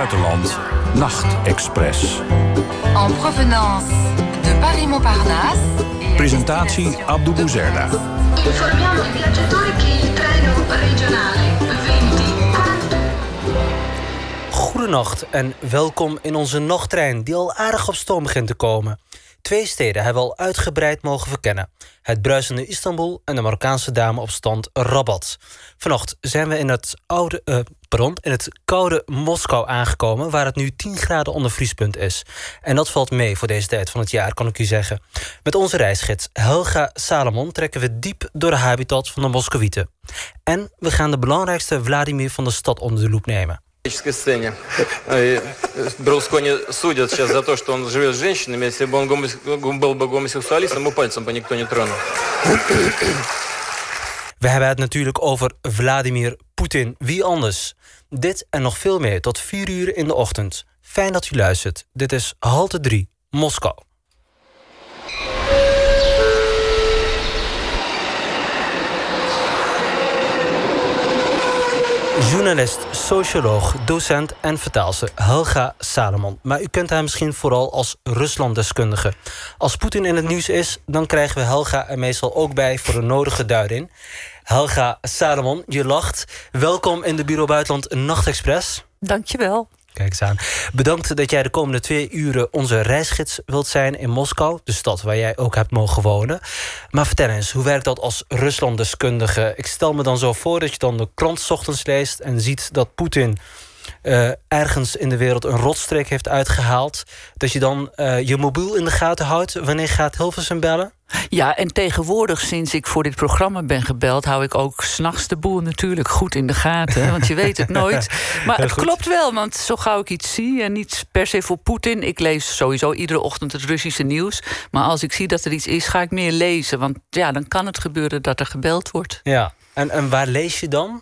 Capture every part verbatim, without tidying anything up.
buitenland Nachtexpress. En provenance de Paris-Montparnasse. Presentatie Abdou Bouzerda. Informiamo i viaggiatori che il treno regionale venti. Goedenacht en welkom in onze nachttrein die al aardig op stoom begint te komen. Twee steden hebben we al uitgebreid mogen verkennen. Het bruisende Istanbul en de Marokkaanse dame op stand Rabat. Vannacht zijn we in het, oude, uh, pardon, in het koude Moskou aangekomen, waar het nu tien graden onder vriespunt is. En dat valt mee voor deze tijd van het jaar, kan ik u zeggen. Met onze reisgids Helga Salomon trekken we diep door de habitat van de Moskowieten. En we gaan de belangrijkste Vladimir van de stad onder de loep nemen. Сцене. Берлускони судят сейчас за то, что он живет с женщинами. Если бы он был бы гомосексуалистом, ему пальцем бы никто не тронул. We hebben het natuurlijk over Vladimir Poetin. Wie anders? Dit en nog veel meer tot vier uur in de ochtend. Fijn dat u luistert. Dit is Halte drie, Moskou. Journalist, socioloog, docent en vertaalster Helga Salomon. Maar u kent haar misschien vooral als Ruslanddeskundige. Als Poetin in het nieuws is, dan krijgen we Helga er meestal ook bij voor de nodige duiding. Helga Salomon, je lacht. Welkom in de Bureau Buitenland Nachtexpress. Dankjewel. Kijk eens aan. Bedankt dat jij de komende twee uren onze reisgids wilt zijn in Moskou, de stad waar jij ook hebt mogen wonen. Maar vertel eens, hoe werkt dat als Ruslanddeskundige? Ik stel me dan zo voor dat je dan de krant 's ochtends leest en ziet dat Poetin uh, ergens in de wereld een rotstreek heeft uitgehaald. Dat je dan uh, je mobiel in de gaten houdt. Wanneer gaat Hilversum bellen? Ja, en tegenwoordig, sinds ik voor dit programma ben gebeld, hou ik ook 's nachts de boel natuurlijk goed in de gaten. Want je weet het nooit. Maar het klopt wel, want zo gauw ik iets zie, en niet per se voor Poetin. Ik lees sowieso iedere ochtend het Russische nieuws. Maar als ik zie dat er iets is, ga ik meer lezen. Want ja, dan kan het gebeuren dat er gebeld wordt. Ja, en, en waar lees je dan?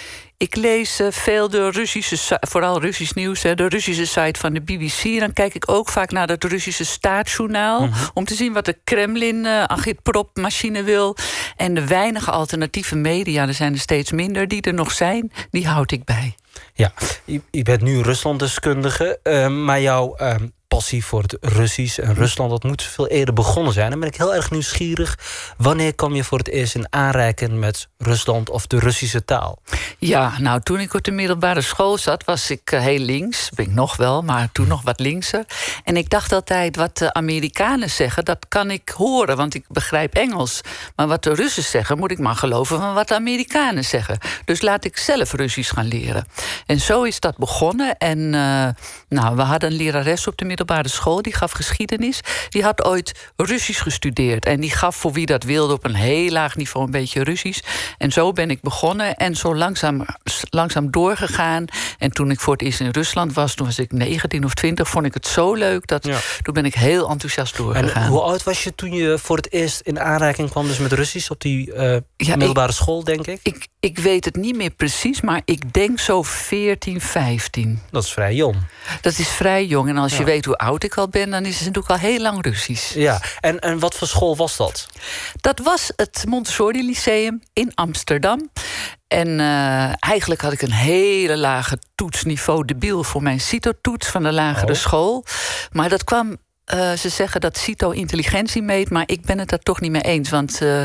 Ik lees uh, veel de Russische, vooral Russisch nieuws, hè, de Russische site van de B B C. Dan kijk ik ook vaak naar het Russische staatsjournaal, mm-hmm. om te zien wat de Kremlin uh, agitprop-machine wil. En de weinige alternatieve media, er zijn er steeds minder, die er nog zijn, die houd ik bij. Ja, je, je bent nu Ruslanddeskundige, uh, maar jouw uh, passie voor het Russisch en Rusland, dat moet veel eerder begonnen zijn. Dan ben ik heel erg nieuwsgierig. Wanneer kwam je voor het eerst in aanraking met Rusland of de Russische taal? Ja, nou, toen ik op de middelbare school zat, was ik uh, heel links. Ben ik nog wel, maar toen nog wat linkser. En ik dacht altijd, wat de Amerikanen zeggen, dat kan ik horen, want ik begrijp Engels. Maar wat de Russen zeggen, moet ik maar geloven van wat de Amerikanen zeggen. Dus laat ik zelf Russisch gaan leren. En zo is dat begonnen. En uh, nou, we hadden een lerares op de middelbare school, die gaf geschiedenis. Die had ooit Russisch gestudeerd. En die gaf voor wie dat wilde op een heel laag niveau een beetje Russisch. En zo ben ik begonnen en zo langzaam, langzaam doorgegaan. En toen ik voor het eerst in Rusland was, toen was ik negentien of twintig, vond ik het zo leuk dat ja. toen ben ik heel enthousiast doorgegaan. En hoe oud was je toen je voor het eerst in aanraking kwam dus met Russisch op die uh, ja, middelbare ik, school, denk ik? ik? Ik weet het niet meer precies, maar ik denk zo veertien, vijftien. Dat is vrij jong. Dat is vrij jong. En als je ja. weet hoe oud ik al ben, dan is het natuurlijk al heel lang Russisch. Ja, en, en wat voor school was dat? Dat was het Montessori Lyceum in Amsterdam. En uh, eigenlijk had ik een hele lage toetsniveau debiel voor mijn CITO-toets van de lagere oh. school. Maar dat kwam, uh, ze zeggen dat CITO intelligentie meet, maar ik ben het daar toch niet mee eens. Want uh,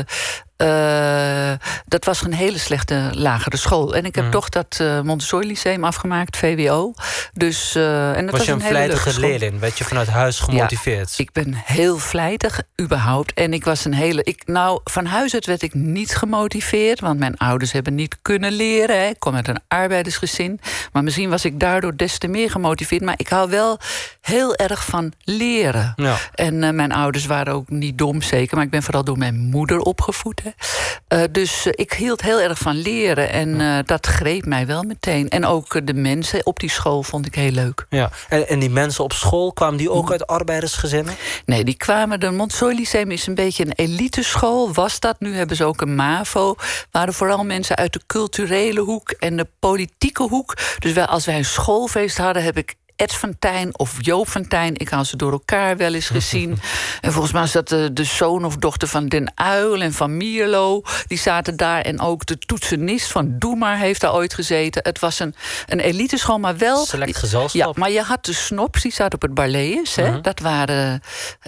Uh, dat was een hele slechte lagere school. En ik heb mm. toch dat uh, Montessori Lyceum afgemaakt, V W O. Dus, uh, en dat was je was een, een vlijtige leerling? Werd je vanuit huis gemotiveerd? Ja, ik ben heel vlijtig, überhaupt. En ik was een hele... Ik, nou, van huis uit werd ik niet gemotiveerd, want mijn ouders hebben niet kunnen leren. Hè. Ik kom uit een arbeidersgezin. Maar misschien was ik daardoor des te meer gemotiveerd. Maar ik hou wel heel erg van leren. Ja. En uh, mijn ouders waren ook niet dom, zeker. Maar ik ben vooral door mijn moeder opgevoed. Hè. Uh, dus uh, ik hield heel erg van leren. En uh, dat greep mij wel meteen. En ook uh, de mensen op die school vond ik heel leuk. Ja. En, en die mensen op school, kwamen die ook uit arbeidersgezinnen? Nee, die kwamen... De Montessori Lyceum is een beetje een eliteschool. Was dat? Nu hebben ze ook een MAVO. Waren vooral mensen uit de culturele hoek en de politieke hoek. Dus wij, als wij een schoolfeest hadden, heb ik Ed van Tijn of Joop van Tijn. Ik had ze door elkaar wel eens gezien. En volgens mij is dat de, de zoon of dochter van Den Uyl en van Mierlo. Die zaten daar. En ook de toetsenist van Doe Maar heeft daar ooit gezeten. Het was een, een eliteschool, maar wel... Select gezelschap. Ja, maar je had de snops, die zaten op het Barlees. Hè? Uh-huh. Dat waren...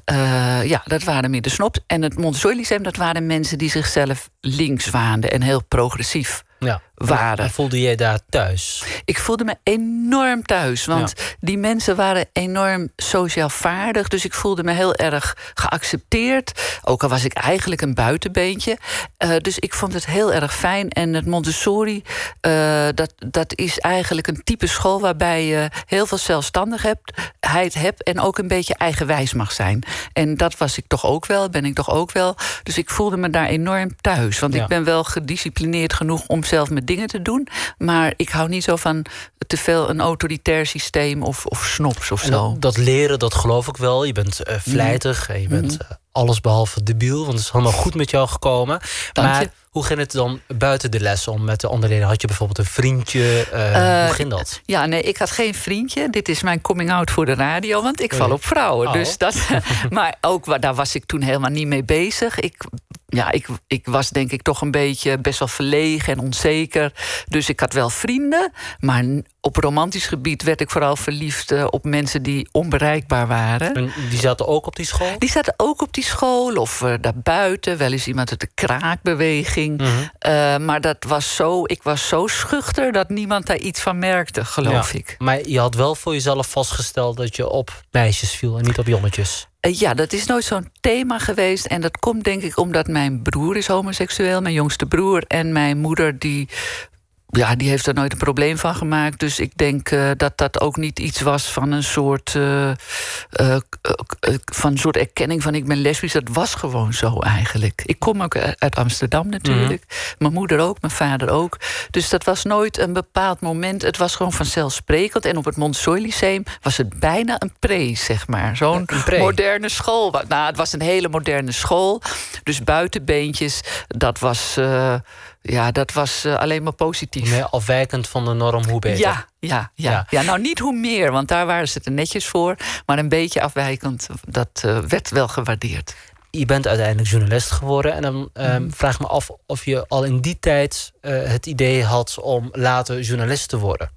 Uh, ja, dat waren meer de snops. En het Montessori Lyceum, dat waren mensen die zichzelf links waanden en heel progressief ja. waren. En voelde jij daar thuis? Ik voelde me enorm thuis. Want ja. die mensen waren enorm sociaal vaardig. Dus ik voelde me heel erg geaccepteerd. Ook al was ik eigenlijk een buitenbeentje. Uh, dus ik vond het heel erg fijn. En het Montessori, uh, dat, dat is eigenlijk een type school waarbij je heel veel zelfstandigheid hebt en ook een beetje eigenwijs mag zijn. En dat was ik toch ook wel, ben ik toch ook wel. Dus ik voelde me daar enorm thuis. Want ja. ik ben wel gedisciplineerd genoeg om zelf mijn dingen te doen. Maar ik hou niet zo van te veel een autoritair systeem of, of snops of en zo. Dat, dat leren, dat geloof ik wel. Je bent uh, vlijtig en je bent uh, alles behalve debiel. Want het is helemaal goed met jou gekomen. Dank maar je. Hoe ging het dan buiten de les om met de andere leden? Had je bijvoorbeeld een vriendje? Uh, uh, hoe ging dat? Ja, nee, ik had geen vriendje. Dit is mijn coming-out voor de radio, want ik val op vrouwen. Oh. Dus dat, maar ook daar was ik toen helemaal niet mee bezig. Ik... Ja, ik, ik was denk ik toch een beetje best wel verlegen en onzeker. Dus ik had wel vrienden. Maar op romantisch gebied werd ik vooral verliefd uh, op mensen die onbereikbaar waren. En die zaten ook op die school? Die zaten ook op die school of uh, daarbuiten. Wel eens iemand uit de kraakbeweging. Mm-hmm. Uh, maar dat was zo, ik was zo schuchter dat niemand daar iets van merkte, geloof ja, ik. Maar je had wel voor jezelf vastgesteld dat je op meisjes viel en niet op jonnetjes. Ja, dat is nooit zo'n thema geweest. En dat komt denk ik omdat mijn broer is homoseksueel. Mijn jongste broer. En mijn moeder die... Ja, die heeft er nooit een probleem van gemaakt. Dus ik denk uh, dat dat ook niet iets was van een soort... Uh, uh, uh, uh, van een soort erkenning van ik ben lesbisch. Dat was gewoon zo eigenlijk. Ik kom ook uit Amsterdam natuurlijk. Mm-hmm. Mijn moeder ook, mijn vader ook. Dus dat was nooit een bepaald moment. Het was gewoon vanzelfsprekend. En op het Montessori Lyceum was het bijna een pre, zeg maar. Zo'n moderne school. Nou, het was een hele moderne school. Dus buitenbeentjes, dat was... Uh, Ja, dat was uh, alleen maar positief. Meer afwijkend van de norm, hoe beter. Ja, ja, ja. ja. ja nou, niet hoe meer, want daar waren ze er netjes voor. Maar een beetje afwijkend, dat uh, werd wel gewaardeerd. Je bent uiteindelijk journalist geworden. En dan uh, mm. vraag ik me af of je al in die tijd uh, het idee had om later journalist te worden.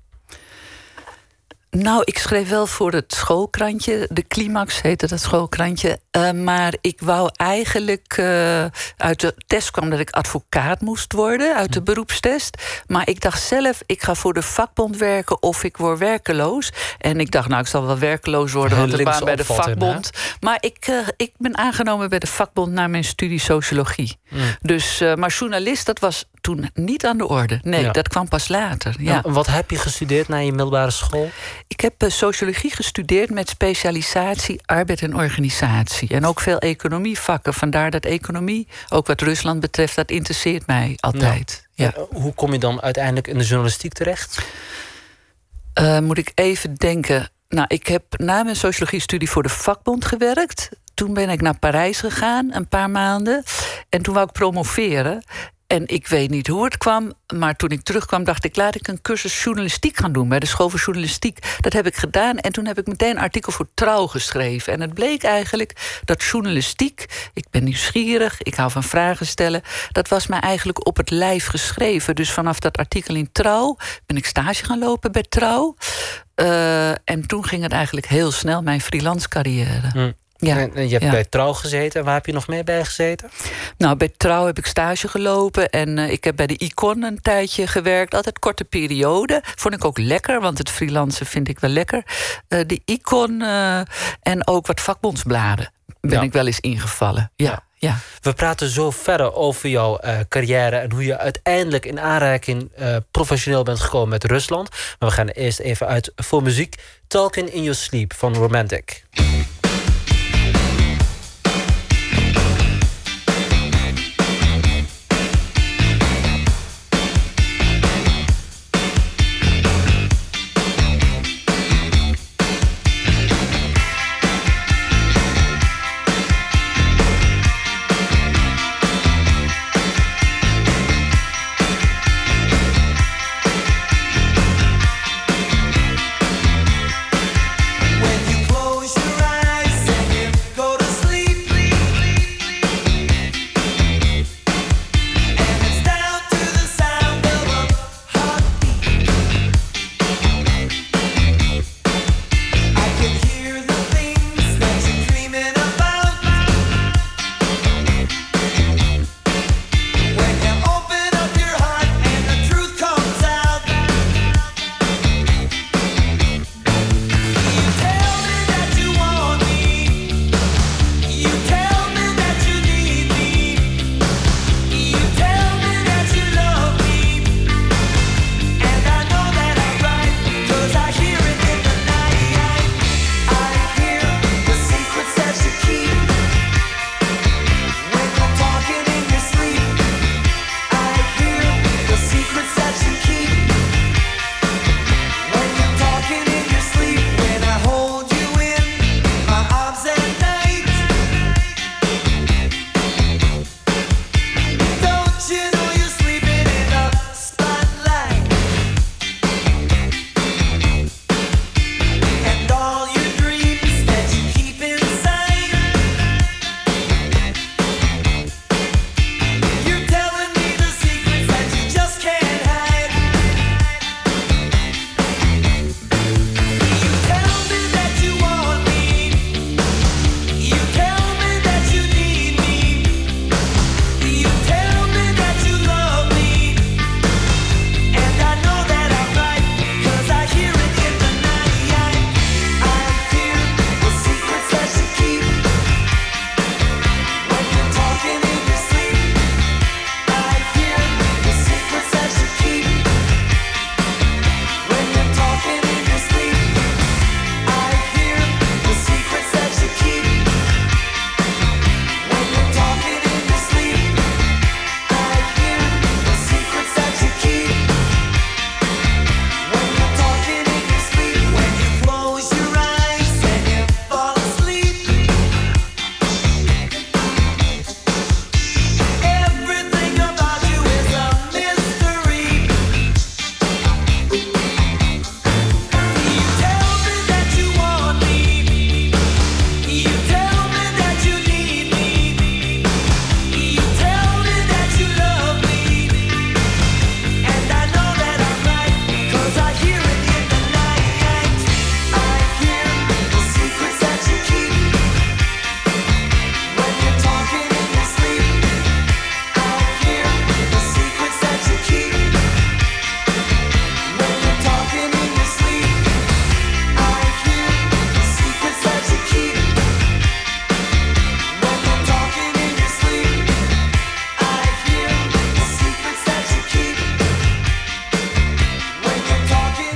Nou, ik schreef wel voor het schoolkrantje. De Climax heette dat schoolkrantje. Uh, maar ik wou eigenlijk... Uh, uit de test kwam dat ik advocaat moest worden. Uit de beroepstest. Maar ik dacht zelf, ik ga voor de vakbond werken... of ik word werkeloos. En ik dacht, nou, ik zal wel werkeloos worden... want ik baan bij de vakbond. Hè? Maar ik, uh, ik ben aangenomen bij de vakbond... na mijn studie sociologie. Mm. Dus, uh, maar journalist, dat was toen niet aan de orde. Nee, ja. dat kwam pas later. Ja. En wat heb je gestudeerd na je middelbare school? Ik heb uh, sociologie gestudeerd met specialisatie arbeid en organisatie. En ook veel economievakken. Vandaar dat economie, ook wat Rusland betreft, dat interesseert mij altijd. Ja. Ja. Hoe kom je dan uiteindelijk in de journalistiek terecht? Uh, moet ik even denken. Nou, ik heb na mijn sociologie-studie voor de vakbond gewerkt. Toen ben ik naar Parijs gegaan, een paar maanden. En toen wou ik promoveren. En ik weet niet hoe het kwam, maar toen ik terugkwam... dacht ik, laat ik een cursus journalistiek gaan doen... bij de school voor journalistiek. Dat heb ik gedaan en toen heb ik meteen een artikel voor Trouw geschreven. En het bleek eigenlijk dat journalistiek... ik ben nieuwsgierig, ik hou van vragen stellen... dat was mij eigenlijk op het lijf geschreven. Dus vanaf dat artikel in Trouw ben ik stage gaan lopen bij Trouw. Uh, en toen ging het eigenlijk heel snel, mijn freelance carrière. Mm. Ja, en je hebt ja. bij Trouw gezeten. Waar heb je nog meer bij gezeten? Nou, bij Trouw heb ik stage gelopen. En uh, ik heb bij de Icon een tijdje gewerkt. Altijd korte periode. Vond ik ook lekker, want het freelancen vind ik wel lekker. Uh, de Icon uh, en ook wat vakbondsbladen ben ja. ik wel eens ingevallen. Ja. ja. Ja. We praten zo verder over jouw uh, carrière... en hoe je uiteindelijk in aanraking uh, professioneel bent gekomen met Rusland. Maar we gaan eerst even uit voor muziek. Talking in Your Sleep van Romantic.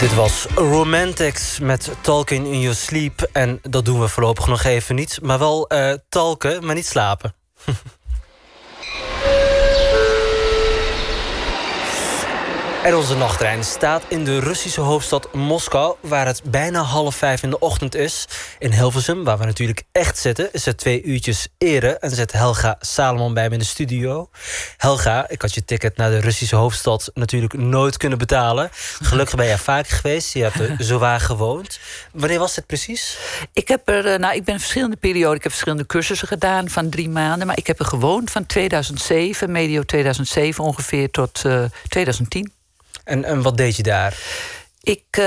Dit was Romantics met Talking in Your Sleep. En dat doen we voorlopig nog even niet. Maar wel uh, talken, maar niet slapen. En onze nachttrein staat in de Russische hoofdstad Moskou, waar het bijna half vijf in de ochtend is. In Hilversum, waar we natuurlijk echt zitten, is het twee uurtjes eerder. En zit Helga Salomon bij me in de studio. Helga, ik had je ticket naar de Russische hoofdstad natuurlijk nooit kunnen betalen. Gelukkig ben jij vaker geweest, je hebt er zowaar gewoond. Wanneer was dit precies? Ik heb er, nou, ik ben in verschillende perioden, ik heb verschillende cursussen gedaan van drie maanden. Maar ik heb er gewoond van tweeduizend zeven, medio tweeduizend zeven ongeveer, tot uh, tweeduizend tien. En, en wat deed je daar? Ik uh,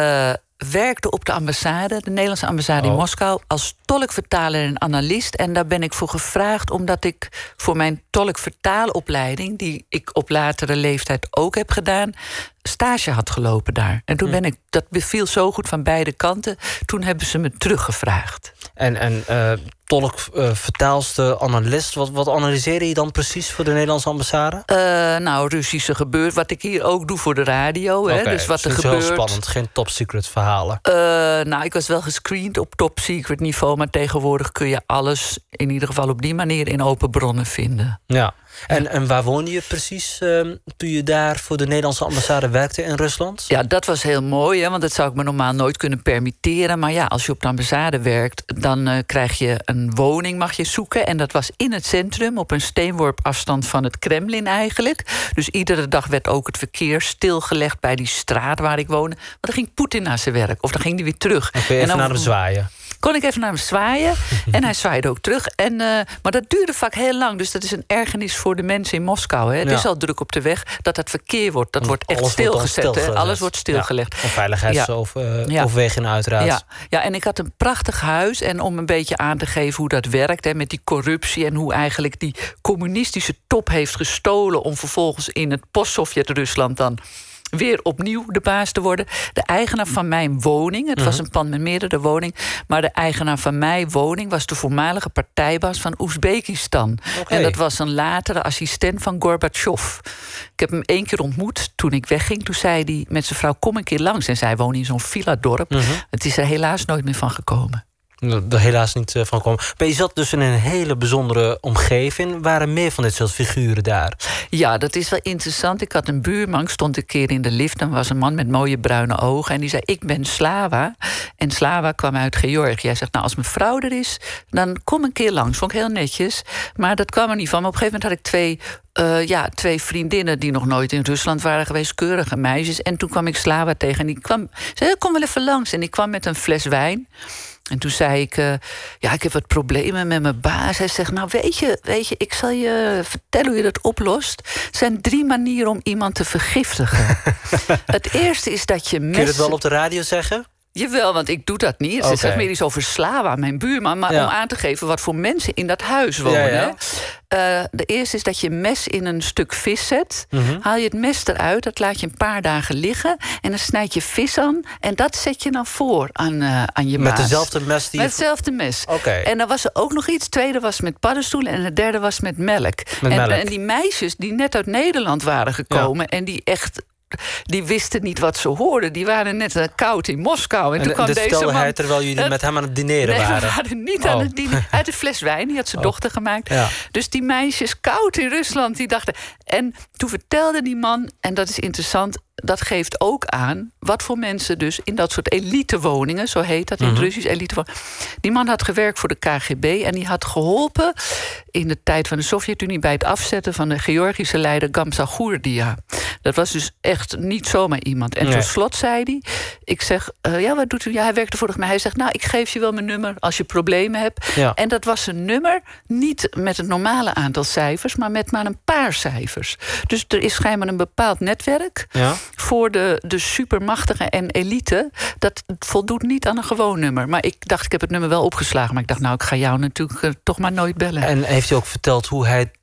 werkte op de ambassade, de Nederlandse ambassade oh. in Moskou, als tolkvertaler en analist. En daar ben ik voor gevraagd omdat ik voor mijn tolkvertaalopleiding, die ik op latere leeftijd ook heb gedaan, stage had gelopen daar. En toen ben ik, dat beviel zo goed van beide kanten, toen hebben ze me teruggevraagd. En, en uh, tolk, uh, vertaalster, analist, wat, wat analyseerde je dan precies voor de Nederlandse ambassade? Uh, nou, Russische gebeurt, wat ik hier ook doe voor de radio. Okay, hè, dus wat er is gebeurt. Heel spannend, geen top secret verhalen. Uh, nou, ik was wel gescreend op top secret niveau, maar tegenwoordig kun je alles in ieder geval op die manier in open bronnen vinden. Ja. En, en waar woonde je precies uh, toen je daar voor de Nederlandse ambassade werkte in Rusland? Ja, dat was heel mooi, hè, want dat zou ik me normaal nooit kunnen permitteren. Maar ja, als je op de ambassade werkt, dan uh, krijg je een woning, mag je zoeken. En dat was in het centrum, op een steenworp afstand van het Kremlin eigenlijk. Dus iedere dag werd ook het verkeer stilgelegd bij die straat waar ik woonde. Want dan ging Poetin naar zijn werk, of dan ging hij weer terug. Dan kun je even en dan naar hem zwaaien. Kon ik even naar hem zwaaien. En hij zwaaide ook terug. En, uh, maar dat duurde vaak heel lang. Dus dat is een ergernis voor de mensen in Moskou. Hè. Het ja. is al druk op de weg. Dat het verkeer wordt, dat wordt echt stilgezet. Wordt stilgelegd. Alles wordt stilgelegd. Ja. Veiligheidsoverwegingen ja. uh, uiteraard. Ja. ja, en ik had een prachtig huis. En om een beetje aan te geven hoe dat werkt, hè, met die corruptie en hoe eigenlijk die communistische top heeft gestolen om vervolgens in het post-Sovjet-Rusland dan weer opnieuw de baas te worden. De eigenaar van mijn woning, het was een pand met meerdere woningen, maar de eigenaar van mijn woning was de voormalige partijbaas van Oezbekistan. Okay. En dat was een latere assistent van Gorbachev. Ik heb hem één keer ontmoet toen ik wegging. Toen zei hij met zijn vrouw, kom een keer langs. En zij woonde in zo'n villa-dorp. Uh-huh. Het is er helaas nooit meer van gekomen. Er helaas niet uh, van komen. Maar je zat dus in een hele bijzondere omgeving. Waren meer van dit soort figuren daar? Ja, dat is wel interessant. Ik had een buurman, ik stond een keer in de lift. En was een man met mooie bruine ogen. En die zei, ik ben Slava. En Slava kwam uit Georgië. Hij zegt, nou, als mijn vrouw er is, dan kom een keer langs. Vond ik heel netjes. Maar dat kwam er niet van. Maar op een gegeven moment had ik twee Uh, ja, twee vriendinnen die nog nooit in Rusland waren geweest, keurige meisjes. En toen kwam ik Slava tegen en die kwam, zei, kom wel even langs. En ik kwam met een fles wijn. En toen zei ik, uh, ja, ik heb wat problemen met mijn baas. Hij zegt, nou weet je, weet je, ik zal je vertellen hoe je dat oplost. Er zijn drie manieren om iemand te vergiftigen. Het eerste is dat je mes... Kun je het wel op de radio zeggen? Jawel, want ik doe dat niet. Ze okay. zegt meer iets over Slava, mijn buurman. Maar ja. om aan te geven wat voor mensen in dat huis wonen. Ja, ja. Uh, de eerste is dat je mes in een stuk vis zet. Mm-hmm. Haal je het mes eruit, dat laat je een paar dagen liggen. En dan snijd je vis aan. En dat zet je dan voor aan, uh, aan je met baas. Met dezelfde mes? Die met hetzelfde mes. Okay. En dan was er ook nog iets. Het tweede was met paddenstoelen. En het derde was met melk. Met en, melk. en die meisjes die net uit Nederland waren gekomen. Ja. En die echt... Die wisten niet wat ze hoorden. Die waren net uh, koud in Moskou. En, en toen kwam deze man... hij terwijl jullie uh, met hem aan het dineren nee, waren? we waren niet oh. aan het dineren. Uit een fles wijn, die had zijn oh. dochter gemaakt. Ja. Dus die meisjes koud in Rusland, die dachten... En toen vertelde die man, en dat is interessant... dat geeft ook aan wat voor mensen dus in dat soort elitewoningen... zo heet dat in het mm-hmm. Russisch, elitewoningen... Die man had gewerkt voor de K G B en die had geholpen... in de tijd van de Sovjet-Unie bij het afzetten van de Georgische leider Gamsagurdia. Dat was dus echt niet zomaar iemand. En nee. tot slot zei hij... Ik zeg, uh, ja, wat doet u? Ja, hij werkte vorig mij. Hij zegt, nou, ik geef je wel mijn nummer als je problemen hebt. Ja. En dat was een nummer, niet met het normale aantal cijfers... maar met maar een paar cijfers. Dus er is schijnbaar een bepaald netwerk... Ja. voor de, de supermachtigen en elite. Dat voldoet niet aan een gewoon nummer. Maar ik dacht, ik heb het nummer wel opgeslagen. Maar ik dacht, nou, ik ga jou natuurlijk uh, toch maar nooit bellen. En heeft hij ook verteld hoe hij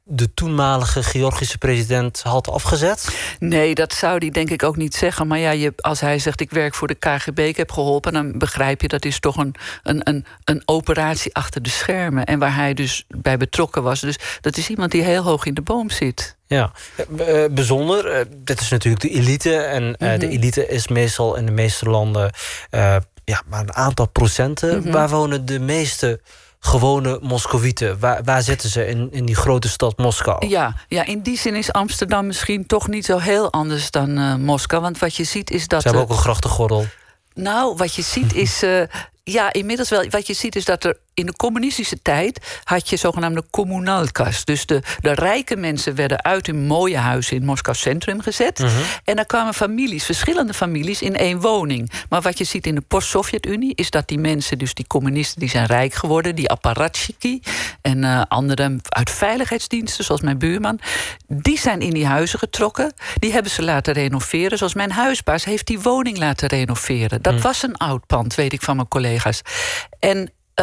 de toenmalige Georgische president had afgezet? Nee, dat zou hij denk ik ook niet zeggen. Maar ja, je, als hij zegt ik werk voor de K G B, ik heb geholpen, dan begrijp je dat is toch een, een, een, een operatie achter de schermen. En waar hij dus bij betrokken was. Dus dat is iemand die heel hoog in de boom zit. Ja, uh, bijzonder. Uh, dit is natuurlijk de elite. En uh, mm-hmm. de elite is meestal in de meeste landen uh, ja, maar een aantal procenten. Mm-hmm. Waar wonen de meeste gewone Moscovieten? Waar, waar zitten ze in, in die grote stad Moskou? Ja, ja, in die zin is Amsterdam misschien toch niet zo heel anders dan uh, Moskou. Want wat je ziet is dat... Ze hebben ook een grachtengordel. Nou, wat je ziet is... Uh, ja, inmiddels wel. Wat je ziet is dat er in de communistische tijd had je zogenaamde kommunalkas. Dus de, de rijke mensen werden uit hun mooie huizen in Moskou Centrum gezet. Mm-hmm. En daar kwamen families, verschillende families, in één woning. Maar wat je ziet in de post-Sovjet-Unie is dat die mensen, dus die communisten, die zijn rijk geworden. Die apparatchiki en uh, anderen uit veiligheidsdiensten, zoals mijn buurman, die zijn in die huizen getrokken. Die hebben ze laten renoveren. Zoals mijn huisbaas heeft die woning laten renoveren. Dat mm. was een oud pand, weet ik van mijn collega's. En Uh,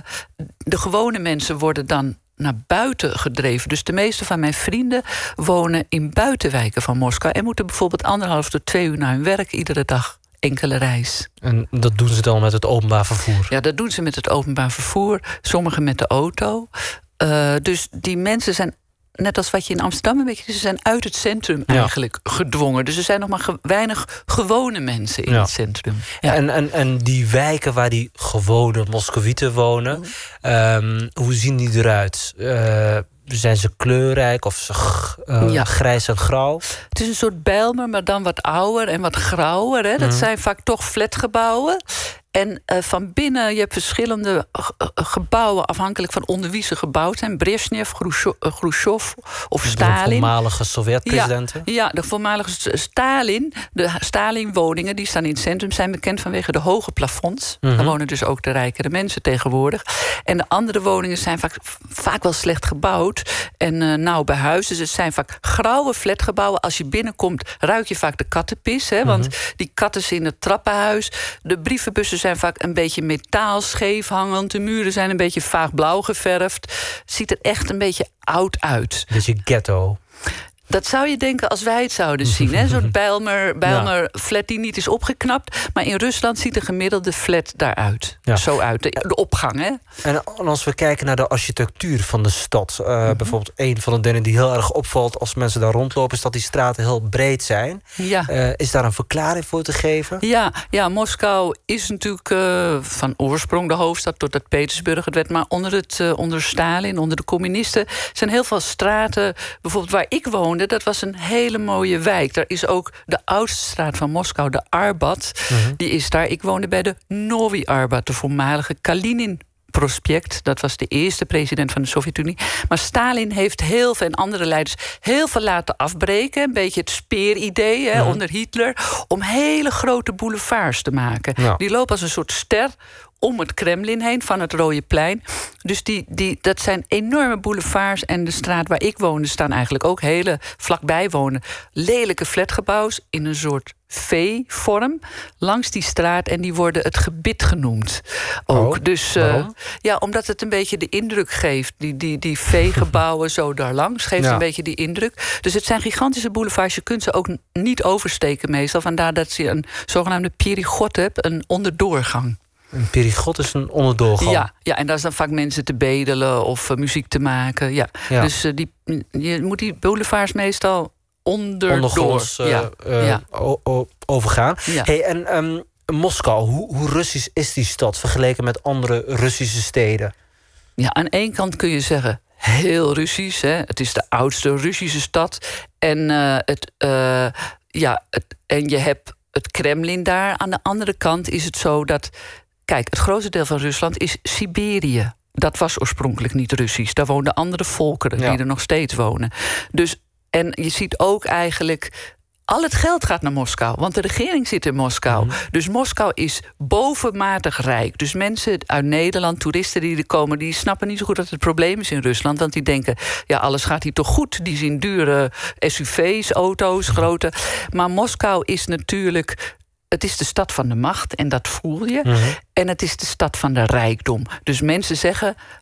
de gewone mensen worden dan naar buiten gedreven. Dus de meeste van mijn vrienden wonen in buitenwijken van Moskou en moeten bijvoorbeeld anderhalf tot twee uur naar hun werk iedere dag. Enkele reis. En dat doen ze dan met het openbaar vervoer? Ja, dat doen ze met het openbaar vervoer. Sommigen met de auto. Uh, dus die mensen zijn, net als wat je in Amsterdam een beetje... ze zijn uit het centrum ja. eigenlijk gedwongen. Dus er zijn nog maar ge- weinig gewone mensen in ja. het centrum. Ja. En, en, en die wijken waar die gewone Moscovieten wonen... Mm. Um, hoe zien die eruit? Uh, zijn ze kleurrijk of ze g- uh, ja. grijs en grauw? Het is een soort Bijlmer, maar dan wat ouder en wat grauwer. Hè? Dat mm. zijn vaak toch flatgebouwen. En uh, van binnen, je hebt verschillende g- gebouwen... afhankelijk van onder wie ze gebouwd zijn. Brezhnev, Khrushchev of Stalin. De voormalige Sovjet-presidenten? Ja, ja, de voormalige Stalin. De Stalin-woningen, die staan in het centrum... zijn bekend vanwege de hoge plafonds. Mm-hmm. Daar wonen dus ook de rijkere mensen tegenwoordig. En de andere woningen zijn vaak, vaak wel slecht gebouwd... en uh, nauw bij huis. Dus het zijn vaak grauwe flatgebouwen. Als je binnenkomt, ruik je vaak de kattenpis. Hè, want mm-hmm. die katten zijn in het trappenhuis. De brievenbussen zijn vaak een beetje metaal scheef hangend. De muren zijn een beetje vaag blauw geverfd. Ziet er echt een beetje oud uit. Beetje ghetto. Dat zou je denken als wij het zouden zien. Een soort Bijlmer, Bijlmer ja. flat die niet is opgeknapt. Maar in Rusland ziet de gemiddelde flat daaruit. Ja. Zo uit. De, de opgang, hè? En als we kijken naar de architectuur van de stad. Uh, mm-hmm. Bijvoorbeeld een van de dingen die heel erg opvalt... als mensen daar rondlopen, is dat die straten heel breed zijn. Ja. Uh, is daar een verklaring voor te geven? Ja, ja Moskou is natuurlijk uh, van oorsprong de hoofdstad... totdat Petersburg het werd. Maar onder, het, uh, onder Stalin, onder de communisten... zijn heel veel straten, bijvoorbeeld waar ik woonde... dat was een hele mooie wijk. Daar is ook de oudste straat van Moskou, de Arbat. Mm-hmm. Die is daar. Ik woonde bij de Novi Arbat, de voormalige Kalinin Prospect. Dat was de eerste president van de Sovjet-Unie. Maar Stalin heeft heel veel, en andere leiders... heel veel laten afbreken. Een beetje het speeridee hè, mm-hmm. onder Hitler... om hele grote boulevards te maken. Ja. Die lopen als een soort ster om het Kremlin heen, van het Rode Plein. Dus die, die, dat zijn enorme boulevards. En de straat waar ik woonde staan eigenlijk ook hele vlakbij wonen. Lelijke flatgebouws in een soort V-vorm langs die straat. En die worden het gebit genoemd. Ook. Oh, dus uh, ja, omdat het een beetje de indruk geeft. Die, die, die V-gebouwen zo daar langs geeft ja. een beetje die indruk. Dus het zijn gigantische boulevards. Je kunt ze ook niet oversteken meestal. Vandaar dat je een zogenaamde perigot hebt, een onderdoorgang. Een perigot is een onderdoorgang. Ja, ja, en daar is dan vaak mensen te bedelen of uh, muziek te maken. Ja. Ja. Dus uh, die, je moet die boulevards meestal onderdoor... Ondergronds uh, ja. Uh, ja. o- o- overgaan. Ja. Hey, en um, Moskou, hoe, hoe Russisch is die stad... vergeleken met andere Russische steden? Ja, aan één kant kun je zeggen... heel Russisch, hè. Het is de oudste Russische stad. En, uh, het, uh, ja, het, en je hebt het Kremlin daar. Aan de andere kant is het zo dat... Kijk, het grootste deel van Rusland is Siberië. Dat was oorspronkelijk niet Russisch. Daar woonden andere volkeren ja. die er nog steeds wonen. Dus, en je ziet ook eigenlijk... al het geld gaat naar Moskou, want de regering zit in Moskou. Mm. Dus Moskou is bovenmatig rijk. Dus mensen uit Nederland, toeristen die er komen... die snappen niet zo goed dat het probleem is in Rusland. Want die denken, ja, alles gaat hier toch goed. Die zien dure S U V's, auto's, grote. Maar Moskou is natuurlijk... het is de stad van de macht en dat voel je. Mm-hmm. En het is de stad van de rijkdom. Dus mensen zeggen...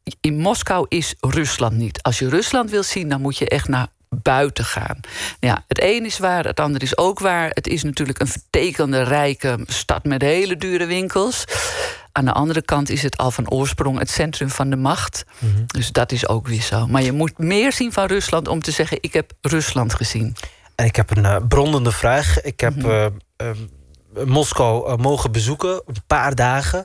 in Moskou is Rusland niet. Als je Rusland wil zien, dan moet je echt naar buiten gaan. Ja, het een is waar, het ander is ook waar. Het is natuurlijk een vertekende, rijke stad met hele dure winkels. Aan de andere kant is het al van oorsprong het centrum van de macht. Mm-hmm. Dus dat is ook weer zo. Maar je moet meer zien van Rusland om te zeggen, ik heb Rusland gezien. En ik heb een uh, brandende vraag. Ik heb mm-hmm. uh, uh, Moskou uh, mogen bezoeken, een paar dagen.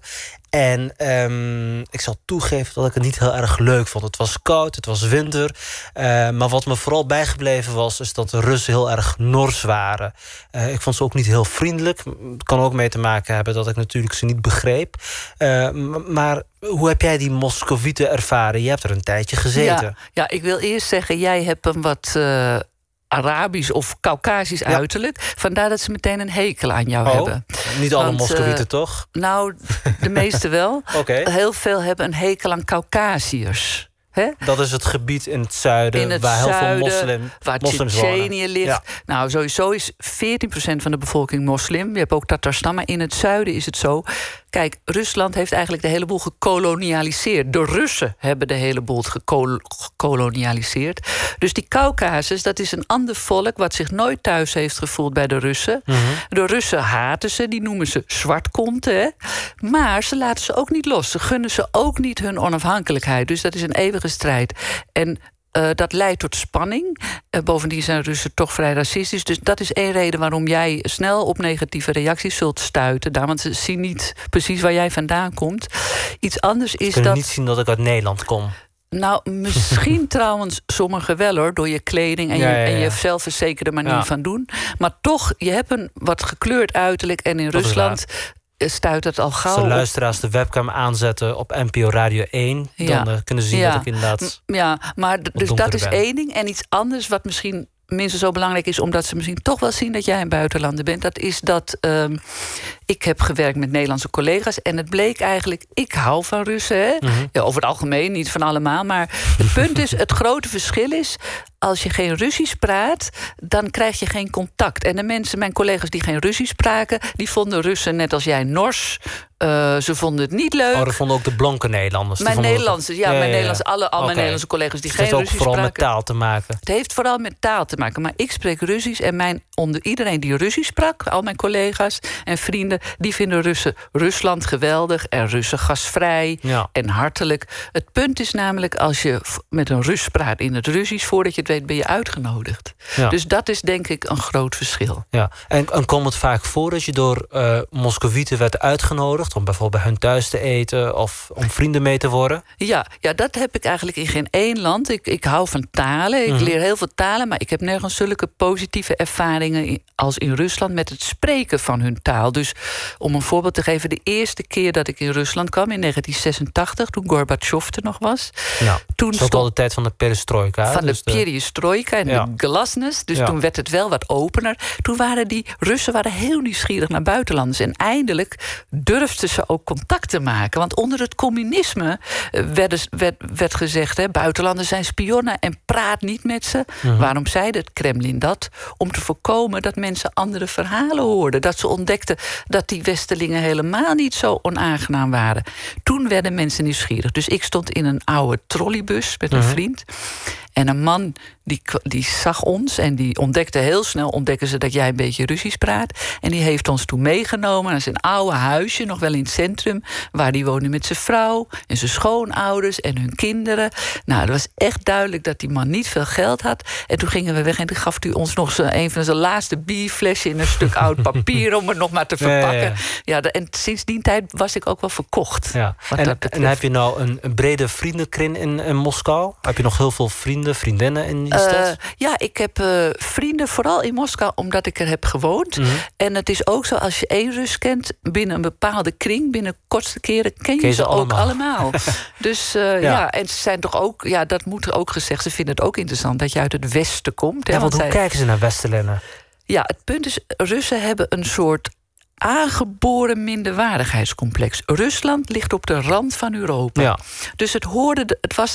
En um, ik zal toegeven dat ik het niet heel erg leuk vond. Het was koud, het was winter. Uh, maar wat me vooral bijgebleven was, is dat de Russen heel erg nors waren. Uh, ik vond ze ook niet heel vriendelijk. Het kan ook mee te maken hebben dat ik natuurlijk ze niet begreep. Uh, maar hoe heb jij die Moskovieten ervaren? Je hebt er een tijdje gezeten. Ja, ja, ik wil eerst zeggen, jij hebt een wat Uh... Arabisch of Caucasisch ja. uiterlijk. Vandaar dat ze meteen een hekel aan jou oh, hebben. Niet alle Moskovieten, uh, toch? Nou, de meeste wel. Okay. Heel veel hebben een hekel aan Caucasiërs. He? Dat is het gebied in het zuiden, in het waar heel zuiden, veel moslim, waar moslims wonen. Tsjetsjenië ligt. Ja. Nou, sowieso is veertien procent van de bevolking moslim. Je hebt ook Tatarstan, maar in het zuiden is het zo. Kijk, Rusland heeft eigenlijk de hele boel gekolonialiseerd. De Russen hebben de hele boel gekol- gekolonialiseerd. Dus die Caucasus, dat is een ander volk wat zich nooit thuis heeft gevoeld bij de Russen. Mm-hmm. De Russen haten ze, die noemen ze zwartkonten. Hè? Maar ze laten ze ook niet los. Ze gunnen ze ook niet hun onafhankelijkheid. Dus dat is een eeuwige strijd. En Uh, dat leidt tot spanning. Uh, bovendien zijn Russen toch vrij racistisch. Dus dat is één reden waarom jij snel op negatieve reacties zult stuiten. Daar, want ze zien niet precies waar jij vandaan komt. Iets anders is ze kunnen dat niet zien dat ik uit Nederland kom. Nou, misschien trouwens sommigen wel hoor, door je kleding en je, ja, ja, ja. en je zelfverzekerde manier ja. van doen. Maar toch, je hebt een wat gekleurd uiterlijk. En in dat Rusland stuit het al gauw. Als de luisteraars de webcam aanzetten op N P O Radio één... Ja. dan uh, kunnen ze zien ja. dat ik inderdaad... Ja, maar d- dus dat is ben. één ding. En iets anders wat misschien minstens zo belangrijk is, omdat ze misschien toch wel zien dat jij een buitenlander bent, dat is dat um, ik heb gewerkt met Nederlandse collega's en het bleek eigenlijk, ik hou van Russen, hè? Mm-hmm. Ja, over het algemeen, niet van allemaal, maar het punt is, het grote verschil is, als je geen Russisch praat, dan krijg je geen contact. En de mensen, mijn collega's die geen Russisch spraken, die vonden Russen net als jij nors. Uh, ze vonden het niet leuk. Oh, dat vonden ook de blanke Nederlanders. Mijn Nederlandse, het... ja, ja, mijn ja, ja. Nederlandse, alle, al okay. mijn Nederlandse collega's die dus geen Russisch spraken. Het heeft ook vooral spraken. met taal te maken. Het heeft vooral met taal te maken. Maar ik spreek Russisch en mijn, onder iedereen die Russisch sprak, al mijn collega's en vrienden, die vinden Russen, Rusland geweldig en Russen gastvrij ja. en hartelijk. Het punt is namelijk, als je met een Rus praat in het Russisch, voordat je het weet ben je uitgenodigd. Ja. Dus dat is denk ik een groot verschil. Ja. En, en komt het vaak voor dat je door uh, Moskovieten werd uitgenodigd om bijvoorbeeld bij hun thuis te eten of om vrienden mee te worden? Ja, ja, dat heb ik eigenlijk in geen één land. Ik, ik hou van talen, ik mm-hmm. leer heel veel talen, maar ik heb nergens zulke positieve ervaringen als in Rusland met het spreken van hun taal. Dus om een voorbeeld te geven, de eerste keer dat ik in Rusland kwam in negentien zesentachtig, toen Gorbachev er nog was. Ja, toen dat was al de tijd van de perestrojka. Van dus de perestrojka en ja. de glasnost. Dus ja. toen werd het wel wat opener. Toen waren die Russen waren heel nieuwsgierig naar buitenlanders. En eindelijk durfden ze ook contact te maken. Want onder het communisme werd, werd, werd gezegd, hè, buitenlanders zijn spionnen en praat niet met ze. Mm-hmm. Waarom zeide het Kremlin dat? Om te voorkomen dat mensen andere verhalen hoorden. Dat ze ontdekten dat die Westelingen helemaal niet zo onaangenaam waren. Toen werden mensen nieuwsgierig. Dus ik stond in een oude trolleybus met een mm-hmm. vriend. En een man die, die zag ons en die ontdekte heel snel, ontdekken ze dat jij een beetje Russisch praat. En die heeft ons toen meegenomen naar zijn oude huisje, nog wel in het centrum, waar die woonde met zijn vrouw en zijn schoonouders en hun kinderen. Nou, het was echt duidelijk dat die man niet veel geld had. En toen gingen we weg en toen gaf hij ons nog zijn, een van zijn laatste bierflesje in een stuk oud papier om het nog maar te verpakken. Ja, ja, ja. ja, en sinds die tijd was ik ook wel verkocht. Ja. En, en heb je nou een, een brede vriendenkring in, in Moskou? Heb je nog heel veel vrienden, vriendinnen in die stad? Uh, ja, ik heb uh, vrienden, vooral in Moskou, omdat ik er heb gewoond. Mm-hmm. En het is ook zo, als je één Rus kent, binnen een bepaalde kring, binnen kortste keren, ken je, ken je ze, ze allemaal. ook allemaal. Dus uh, ja. ja, en ze zijn toch ook, ja, dat moet er ook gezegd, ze vinden het ook interessant dat je uit het Westen komt. Ja, hè, want, want hoe zij, kijken ze naar Westerlingen? Ja, het punt is, Russen hebben een soort aangeboren minderwaardigheidscomplex. Rusland ligt op de rand van Europa. Ja. Dus het hoorde, het was,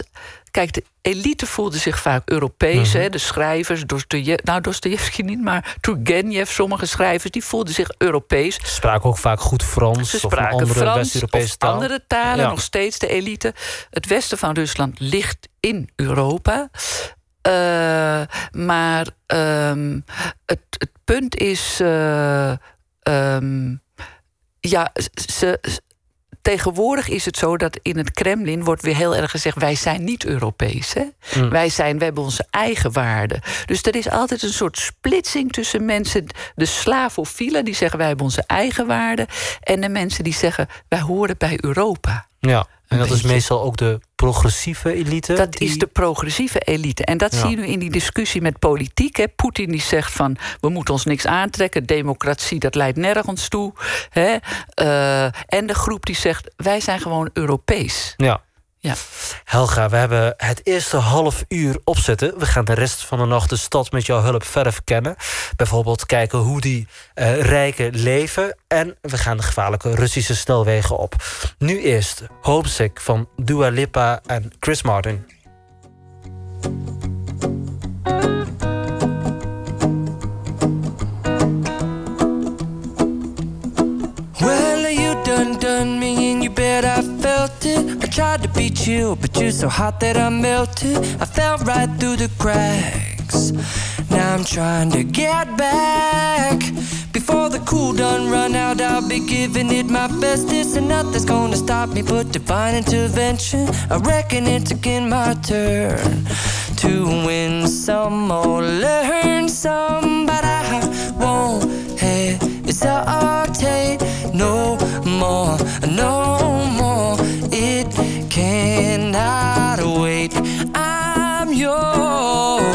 kijk, de elite voelde zich vaak Europees. Mm-hmm. Hè, de schrijvers, Dostoje- nou Dostojevski niet, maar Turgenev, sommige schrijvers, die voelden zich Europees. Ze spraken ook vaak goed Frans. Ze of een spraken andere Frans West-Europese of taal. andere talen, Ja. nog steeds de elite. Het westen van Rusland ligt in Europa. Uh, maar um, het, het punt is... Uh, um, ja, ze... Tegenwoordig is het zo dat in het Kremlin wordt weer heel erg gezegd... wij zijn niet Europees. Hè? Mm. Wij zijn, we hebben onze eigen waarden. Dus er is altijd een soort splitsing tussen mensen... de slavofielen die zeggen wij hebben onze eigen waarden... en de mensen die zeggen wij horen bij Europa. Ja, en dat beetje. is meestal ook de progressieve elite? Dat die... is de progressieve elite. En dat Ja. zie je nu in die discussie met politiek. Hè. Poetin die zegt van, we moeten ons niks aantrekken. Democratie, dat leidt nergens toe. Hè. Uh, en de groep die zegt, wij zijn gewoon Europees. Ja. Ja. Helga, we hebben het eerste half uur opzetten. We gaan de rest van de nacht de stad met jouw hulp verder verkennen. Bijvoorbeeld kijken hoe die uh, rijken leven. En we gaan de gevaarlijke Russische snelwegen op. Nu eerst Homesick van Dua Lipa en Chris Martin. Well, you done done me and you bet I felt it. I tried to be chill, but you're so hot that I melted. I fell right through the cracks. Now I'm trying to get back. Before the cool done run out, I'll be giving it my bestest. And nothing's gonna stop me but divine intervention. I reckon it's again my turn to win some or learn some. But I won't hesitate no more, no more. It cannot wait. I'm yours.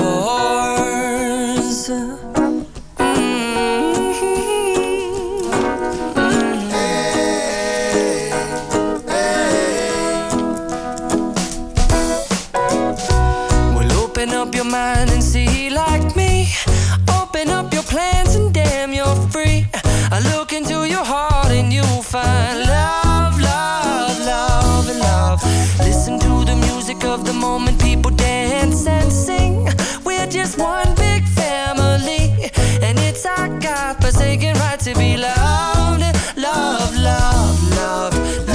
Your mind and see like me. Open up your plans and damn you're free. I look into your heart and you'll find love, love, love, and love. Listen to the music of the moment, people dance and sing. We're just one big family, and it's our God-forsaken right to be loved, love, love, love,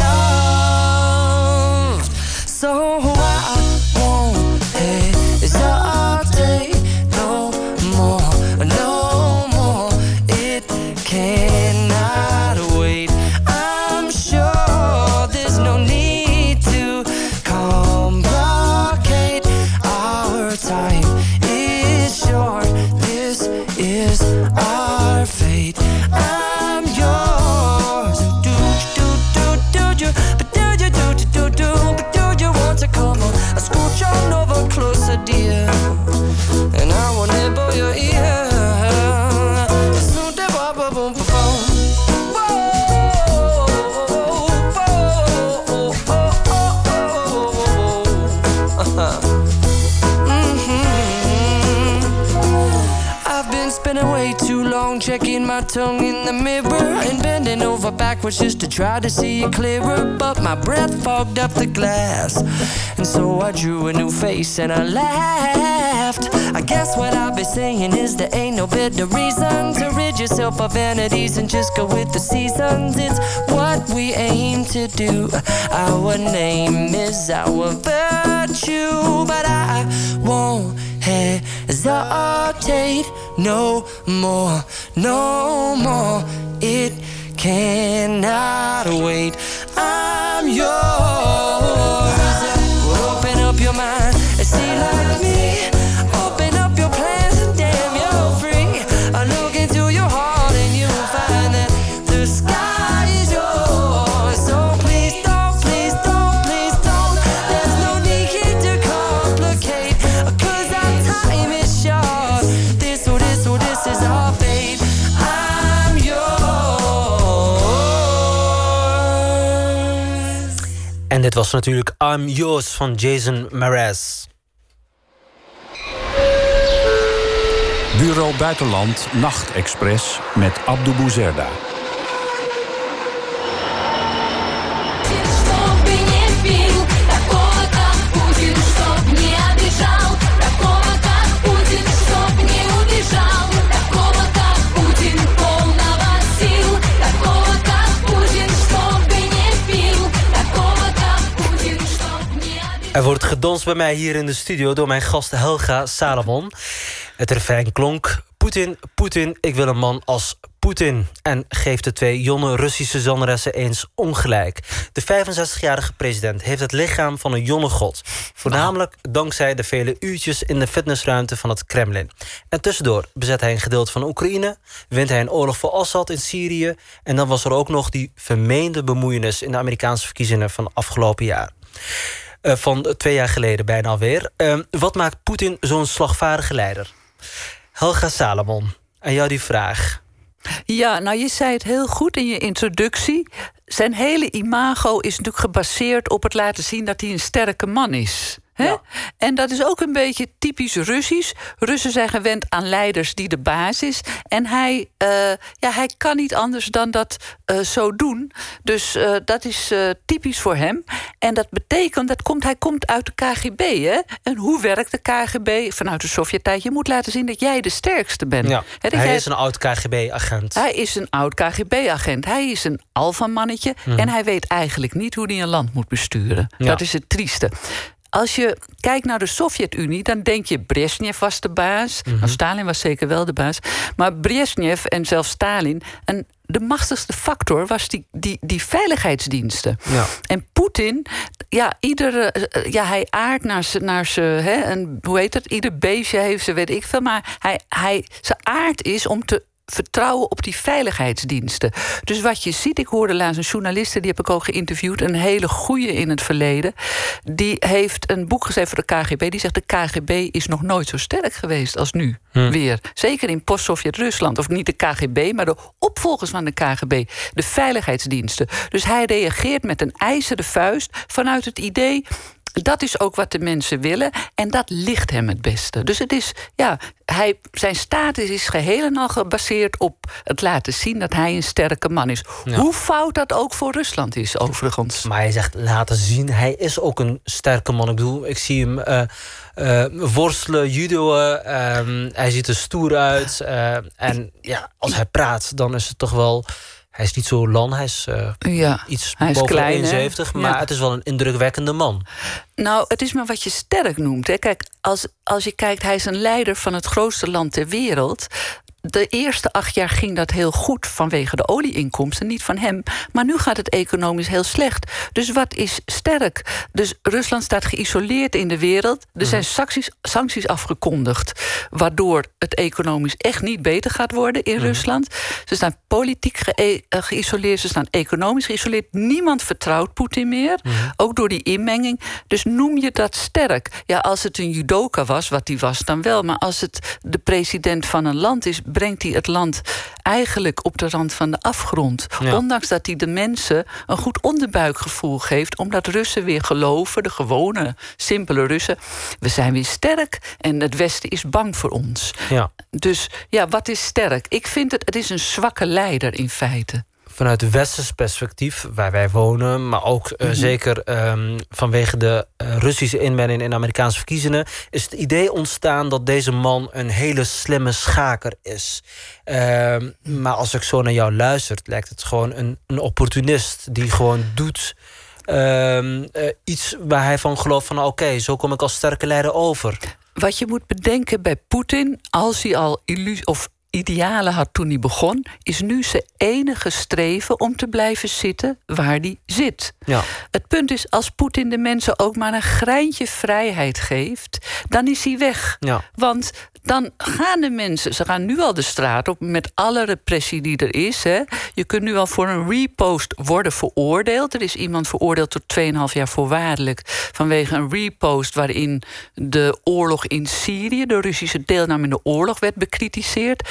love. So I won't hesitate no more, no more. It cannot wait. I'm sure there's no need to complicate. Our time is short. This is our fate. I'm yours. Do do do do do, but do you do do do do, but do you want to come on? I scooch on over closer, dear, and I will nibble your ear. So da ba ba boom ba boom. I've been spending way too long checking my tongue in the mirror and bending over backwards just to try to see it clearer. But my breath fogged up the glass, and so I drew a new face and I laughed. I guess what I'll be saying is there ain't no better reason to rid yourself of vanities and just go with the seasons. It's what we aim to do. Our name is our virtue, but I won't hesitate no more, no more. It cannot wait. I'm yours. Open up your mind and see like me. Open up your plans and damn you're free. I look into your heart and you'll find that the sky is yours. So please don't, please don't, please don't. There's no need to complicate, 'cause our time is short. This or this or this is our fate. I'm yours. En dit was natuurlijk I'm Yours van Jason Mraz. Bureau Buitenland Nachtexpress met Abdou Bouzerda. Чтоб не пил, такой, как Путин, чтоб Er wordt gedanst bij mij hier in de studio door mijn gast Helga Salomon. Het refrein klonk: Poetin, Poetin, ik wil een man als Poetin. En geeft de twee jonge Russische zangeressen eens ongelijk. De vijfenzestigjarige president heeft het lichaam van een jonge god. Voornamelijk dankzij de vele uurtjes in de fitnessruimte van het Kremlin. En tussendoor bezet hij een gedeelte van Oekraïne, wint hij een oorlog voor Assad in Syrië, en dan was er ook nog die vermeende bemoeienis in de Amerikaanse verkiezingen van afgelopen jaar. Uh, van twee jaar geleden bijna alweer. Uh, wat maakt Poetin zo'n slagvaardige leider? Helga Salomon, aan jou die vraag. Ja, nou je zei het heel goed in je introductie. Zijn hele imago is natuurlijk gebaseerd op het laten zien dat hij een sterke man is. He? Ja. En dat is ook een beetje typisch Russisch. Russen zijn gewend aan leiders die de baas is. En hij, uh, ja, hij kan niet anders dan dat uh, zo doen. Dus uh, dat is uh, typisch voor hem. En dat betekent, dat komt, hij komt uit de K G B. Hè? En hoe werkt de K G B vanuit de Sovjet-tijd? Je moet laten zien dat jij de sterkste bent. Ja, He, hij jij... is een oud K G B-agent. Hij is een oud K G B-agent. Hij is een alfamannetje. Mm. En hij weet eigenlijk niet hoe hij een land moet besturen. Ja. Dat is het trieste. Als je kijkt naar de Sovjet-Unie, dan denk je Brezhnev was de baas. Mm-hmm. Nou, Stalin was zeker wel de baas. Maar Brezhnev en zelfs Stalin, en de machtigste factor was die, die, die veiligheidsdiensten. Ja. En Poetin, ja, iedere, ja, hij aardt naar zijn, naar zijn, hè, en hoe heet het? Ieder beestje heeft ze, weet ik veel. Maar hij, hij, zijn aard is om te vertrouwen op die veiligheidsdiensten. Dus wat je ziet, ik hoorde laatst een journaliste, die heb ik ook geïnterviewd, een hele goeie in het verleden, die heeft een boek geschreven voor de K G B, die zegt de K G B is nog nooit zo sterk geweest als nu hm. weer. Zeker in post-Sovjet-Rusland. Of niet de K G B, maar de opvolgers van de K G B. De veiligheidsdiensten. Dus hij reageert met een ijzeren vuist vanuit het idee, dat is ook wat de mensen willen. En dat ligt hem het beste. Dus het is, ja, hij, zijn status is geheel en al gebaseerd op het laten zien dat hij een sterke man is. Ja. Hoe fout dat ook voor Rusland is, overigens. Maar hij zegt laten zien, hij is ook een sterke man. Ik bedoel, ik zie hem uh, uh, worstelen, judoën. Uh, hij ziet er stoer uit. Uh, en ja, als hij praat, dan is het toch wel, hij is niet zo lang, hij is, uh, ja, iets hij is boven klein, eenenzeventig, maar ja, het is wel een indrukwekkende man. Nou, het is maar wat je sterk noemt. Hè. Kijk, als, als je kijkt, hij is een leider van het grootste land ter wereld. De eerste acht jaar ging dat heel goed vanwege de olieinkomsten, niet van hem. Maar nu gaat het economisch heel slecht. Dus wat is sterk? Dus Rusland staat geïsoleerd in de wereld. Er zijn sancties, sancties afgekondigd, waardoor het economisch echt niet beter gaat worden in mm. Rusland. Ze staan politiek ge- geïsoleerd, ze staan economisch geïsoleerd. Niemand vertrouwt Poetin meer, mm. ook door die inmenging. Dus noem je dat sterk? Ja, als het een judoka was, wat die was, dan wel. Maar als het de president van een land is, brengt hij het land eigenlijk op de rand van de afgrond. Ja. Ondanks dat hij de mensen een goed onderbuikgevoel geeft, omdat Russen weer geloven, de gewone, simpele Russen, we zijn weer sterk en het Westen is bang voor ons. Ja. Dus ja, wat is sterk? Ik vind het, het is een zwakke leider in feite. Vanuit het westers perspectief, waar wij wonen, maar ook uh, mm-hmm. zeker um, vanwege de uh, Russische inmenging in de Amerikaanse verkiezingen, is het idee ontstaan dat deze man een hele slimme schaker is. Uh, maar als ik zo naar jou luister, lijkt het gewoon een, een opportunist die gewoon doet uh, uh, iets waar hij van gelooft van oké, okay, zo kom ik als sterke leider over. Wat je moet bedenken bij Poetin, als hij al illusie of idealen had toen hij begon, is nu zijn enige streven om te blijven zitten waar hij zit. Ja. Het punt is, als Poetin de mensen ook maar een greintje vrijheid geeft, dan is hij weg. Ja. Want dan gaan de mensen, ze gaan nu al de straat op met alle repressie die er is. Hè. Je kunt nu al voor een repost worden veroordeeld. Er is iemand veroordeeld tot twee komma vijf jaar voorwaardelijk vanwege een repost waarin de oorlog in Syrië, de Russische deelname in de oorlog, werd bekritiseerd.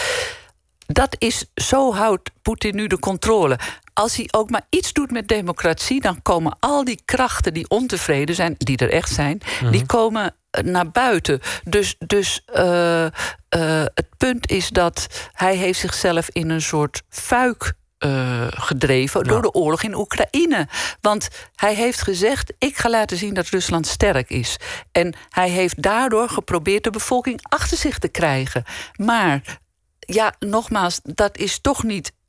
Dat is, zo houdt Poetin nu de controle. Als hij ook maar iets doet met democratie, dan komen al die krachten die ontevreden zijn, die er echt zijn, mm-hmm. die komen naar buiten. Dus, dus uh, uh, het punt is dat hij heeft zichzelf in een soort fuik Uh, gedreven ja. door de oorlog in Oekraïne. Want hij heeft gezegd, ik ga laten zien dat Rusland sterk is. En hij heeft daardoor geprobeerd de bevolking achter zich te krijgen. Maar ja, nogmaals, dat is toch niet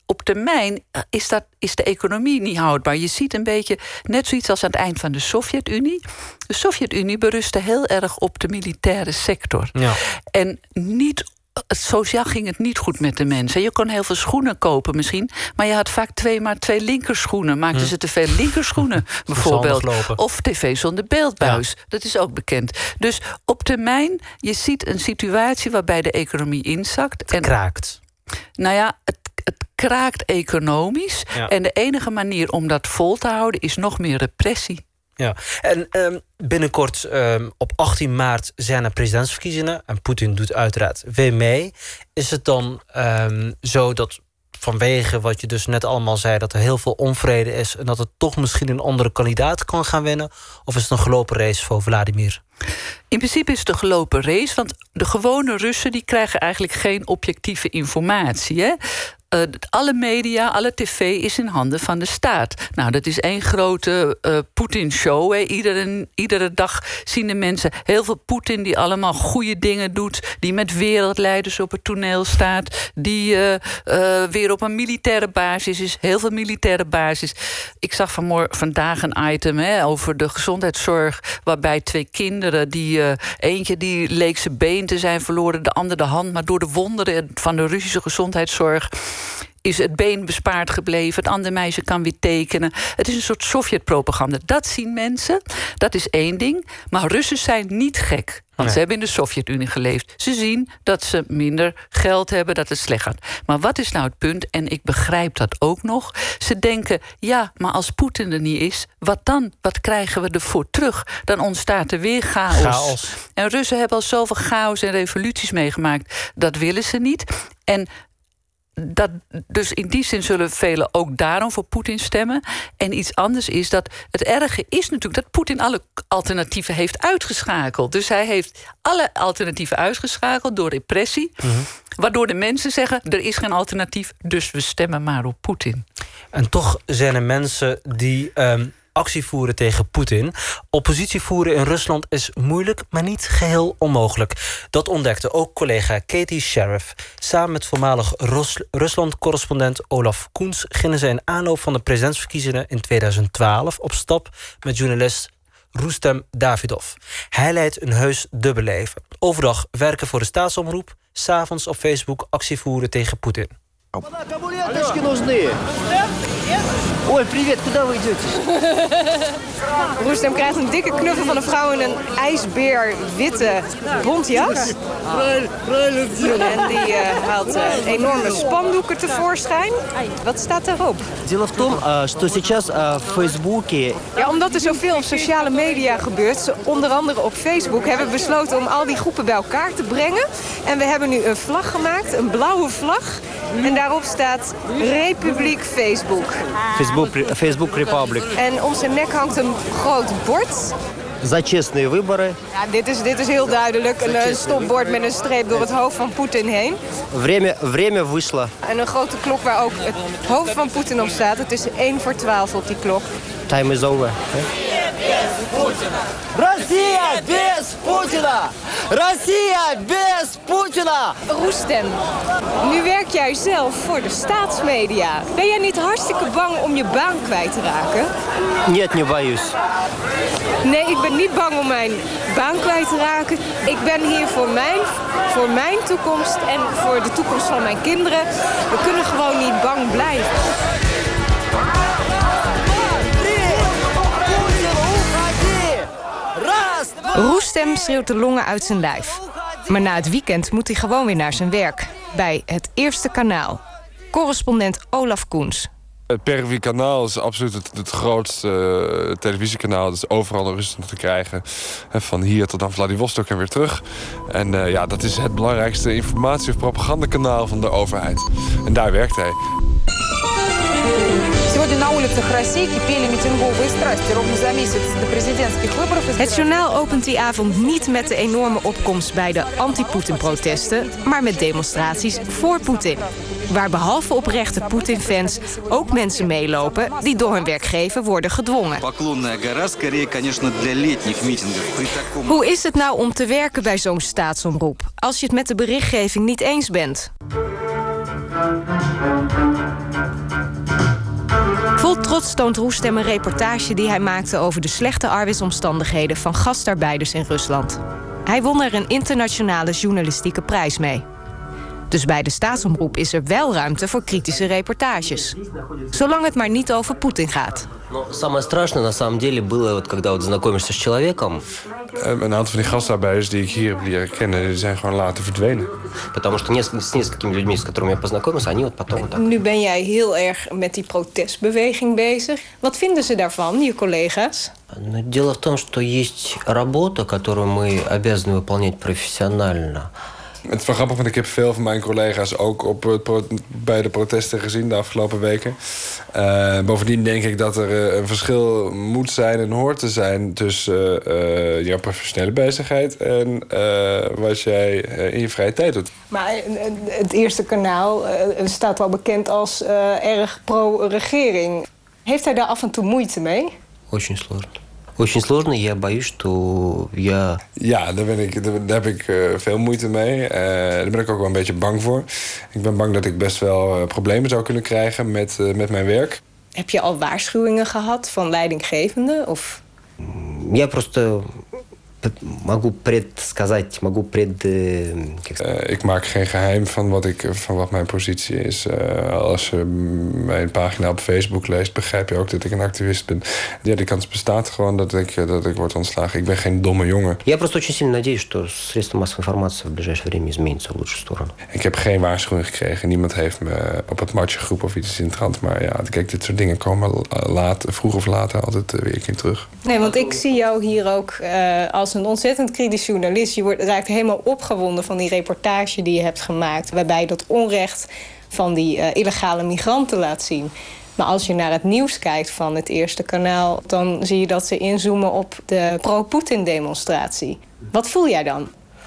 op termijn is, dat, is de economie niet houdbaar. Je ziet een beetje net zoiets als aan het eind van de Sovjet-Unie. De Sovjet-Unie berustte heel erg op de militaire sector. Ja. En niet... Sociaal ging het niet goed met de mensen. Je kon heel veel schoenen kopen misschien, maar je had vaak twee maar twee linkerschoenen. Maakten hm. ze te veel linkerschoenen bijvoorbeeld. Of tv zonder beeldbuis. Ja. Dat is ook bekend. Dus op termijn, je ziet een situatie waarbij de economie inzakt. Het en, kraakt. Nou ja, het, het kraakt economisch. Ja. En de enige manier om dat vol te houden is nog meer repressie. Ja, en um, binnenkort um, op achttien maart zijn er presidentsverkiezingen en Poetin doet uiteraard weer mee. Is het dan um, zo dat vanwege wat je dus net allemaal zei, dat er heel veel onvrede is en dat het toch misschien een andere kandidaat kan gaan winnen? Of is het een gelopen race voor Vladimir? In principe is het een gelopen race, want de gewone Russen die krijgen eigenlijk geen objectieve informatie. Hè? Uh, alle media, alle tv is in handen van de staat. Nou, dat is één grote uh, Poetin-show. Iedere, iedere dag zien de mensen heel veel Poetin die allemaal goede dingen doet, die met wereldleiders op het toneel staat, die uh, uh, weer op een militaire basis is, heel veel militaire basis. Ik zag vanmorgen, vandaag een item hè, over de gezondheidszorg, waarbij twee kinderen, die uh, eentje die leek zijn been te zijn verloren, de ander de hand, maar door de wonderen van de Russische gezondheidszorg is het been bespaard gebleven. Het andere meisje kan weer tekenen. Het is een soort Sovjet-propaganda. Dat zien mensen. Dat is één ding. Maar Russen zijn niet gek. Want nee. ze hebben in de Sovjet-Unie geleefd. Ze zien dat ze minder geld hebben, dat het slecht gaat. Maar wat is nou het punt? En ik begrijp dat ook nog. Ze denken, ja, maar als Poetin er niet is, wat dan? Wat krijgen we ervoor terug? Dan ontstaat er weer chaos. chaos. En Russen hebben al zoveel chaos en revoluties meegemaakt. Dat willen ze niet. En dat, dus in die zin zullen velen ook daarom voor Poetin stemmen. En iets anders is dat het erge is natuurlijk dat Poetin alle alternatieven heeft uitgeschakeld. Dus hij heeft alle alternatieven uitgeschakeld door repressie. Mm-hmm. Waardoor de mensen zeggen, er is geen alternatief, dus we stemmen maar op Poetin. En toch zijn er mensen die Um... actie voeren tegen Poetin. Oppositie voeren in Rusland is moeilijk, maar niet geheel onmogelijk. Dat ontdekte ook collega Katie Sheriff. Samen met voormalig Rus- Rusland-correspondent Olaf Koens gingen ze in aanloop van de presidentsverkiezingen in tweeduizend twaalf op stap met journalist Rustem Davidov. Hij leidt een heus dubbelleven. Overdag werken voor de staatsomroep, 's avonds op Facebook actie voeren tegen Poetin. Ой, привет, куда вы идете? Rustem krijgt een dikke knuffel van een vrouw in een ijsbeerwitte bontjas. En die uh, haalt uh, enorme spandoeken tevoorschijn. Wat staat daarop? Дело в том, что сейчас в Фейсбуке... Ja, omdat er zoveel op sociale media gebeurt, onder andere op Facebook, hebben we besloten om al die groepen bij elkaar te brengen. En we hebben nu een vlag gemaakt, een blauwe vlag. En daarop staat Republiek Facebook. Facebook, Facebook Republic. En om zijn nek hangt een groot bord. За честные выборы. Ja, dit is, dit is heel duidelijk. Een, een stopbord met een streep door het hoofd van Poetin heen. Время, время вышло. En een grote klok waar ook het hoofd van Poetin op staat. Het is één voor twaalf op die klok. Time is over. Россия без Путина! Россия без Путина! Rustem, nu werk jij zelf voor de staatsmedia. Ben jij niet hartstikke bang om je baan kwijt te raken? Нет, не боюсь. Nee, ik ben niet bang om mijn baan kwijt te raken. Ik ben hier voor mijn, voor mijn toekomst en voor de toekomst van mijn kinderen. We kunnen gewoon niet bang blijven. Rustem schreeuwt de longen uit zijn lijf. Maar na het weekend moet hij gewoon weer naar zijn werk. Bij het Eerste Kanaal. Correspondent Olaf Koens. Het Pervi-kanaal is absoluut het, het grootste uh, televisiekanaal. Dat is overal in Rusland te krijgen. He, van hier tot aan Vladivostok en weer terug. En uh, ja, dat is het belangrijkste informatie- of propagandakanaal van de overheid. En daar werkt hij. Het journaal opent die avond niet met de enorme opkomst bij de anti-Poetin-protesten, maar met demonstraties voor Poetin. Waar behalve oprechte Poetin-fans ook mensen meelopen die door hun werkgever worden gedwongen. Hoe is het nou om te werken bij zo'n staatsomroep als je het met de berichtgeving niet eens bent? Vol trots toont Roestem een reportage die hij maakte over de slechte arbeidsomstandigheden van gastarbeiders in Rusland. Hij won er een internationale journalistieke prijs mee. Dus bij de staatsomroep is er wel ruimte voor kritische reportages. Zolang het maar niet over Poetin gaat. Самое страшное на самом деле было, вот, когда вот знакомишься с человеком. Een aantal van die gastarbeiders die ik hier heb leren kennen, die zijn gewoon later verdwenen. Потому что с несколькими людьми, с которыми я познакомился, они вот потом вот так. Nu ben jij heel erg met die protestbeweging bezig. Wat vinden ze daarvan, je collega's? Дело в том, что есть работа, которую мы обязаны выполнять профессионально. Het is wel grappig, want ik heb veel van mijn collega's ook op het pro- bij de protesten gezien de afgelopen weken. Uh, bovendien denk ik dat er uh, een verschil moet zijn en hoort te zijn tussen uh, uh, jouw professionele bezigheid en uh, wat jij uh, in je vrije tijd doet. Maar het Eerste Kanaal uh, staat wel bekend als uh, erg pro-regering. Heeft hij daar af en toe moeite mee? Очень сложно. Очень сложно, я боюсь, что я... Ja, daar, ben ik, daar heb ik uh, veel moeite mee. Uh, daar ben ik ook wel een beetje bang voor. Ik ben bang dat ik best wel uh, problemen zou kunnen krijgen met, uh, met mijn werk. Heb je al waarschuwingen gehad van leidinggevenden? Of... Я просто могу предсказать, могу пред... Uh, ik maak geen geheim van wat, ik, van wat mijn positie is. Uh, als je mijn pagina op Facebook leest, begrijp je ook dat ik een activist ben. Ja, die kans bestaat gewoon dat ik, dat ik word ontslagen. Ik ben geen domme jongen. Я просто очень сильно надеюсь, что средства массовой информации в ближайшее время изменятся в лучшую сторону. Ik heb geen waarschuwing gekregen. Niemand heeft me op het matje geroepen of iets in de trant. Maar ja, kijk, dit soort dingen komen laat, vroeg of later altijd weer een keer terug. Nee, want ik zie jou hier ook uh, als een ontzettend kritisch journalist. Je wordt, raakt helemaal opgewonden van die reportage die je hebt gemaakt, waarbij je dat onrecht van die uh, illegale migranten laat zien. Maar als je naar het nieuws kijkt van het Eerste Kanaal, dan zie je dat ze inzoomen op de pro-Poetin-demonstratie. Wat voel jij dan?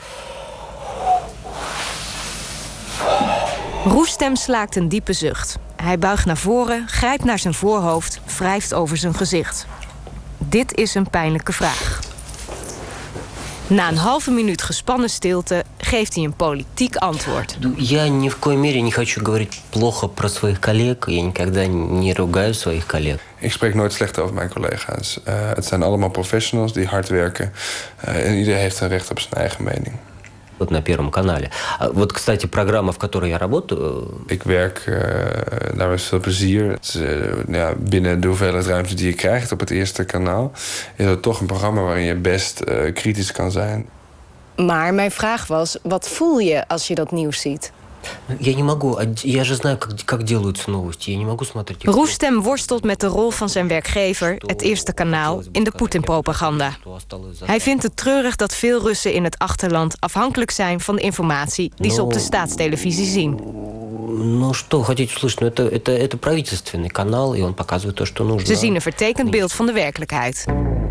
Roestem slaakt een diepe zucht. Hij buigt naar voren, grijpt naar zijn voorhoofd, wrijft over zijn gezicht. Dit is een pijnlijke vraag. Na een halve minuut gespannen stilte geeft hij een politiek antwoord. Я ни в коей мере не хочу говорить плохо про своих коллег. Я никогда не ругаю своих коллег. Ik spreek nooit slecht over mijn collega's. Uh, het zijn allemaal professionals die hard werken. Uh, en iedereen heeft een recht op zijn eigen mening. Вот на Первом канале. Вот, кстати, программа, в которой я работаю... Ik werk uh, daar met veel plezier. Het is, uh, ja, binnen de hoeveelheid ruimte die je krijgt op het Eerste Kanaal is het toch een programma waarin je best uh, kritisch kan zijn. Maar mijn vraag was, wat voel je als je dat nieuws ziet? Я не могу. Я же знаю, как, как делаются новости. Я не могу смотреть. Roestem worstelt met de rol van zijn werkgever, het Eerste Kanaal, in de Poetin-propaganda. Hij vindt het treurig dat veel Russen in het achterland afhankelijk zijn van de informatie die ze op de staatstelevisie zien. Ну что, хотите услышать? Ну, это, это, это правительственный канал, и он показывает то, что нужно. Ze zien een vertekend beeld van de werkelijkheid.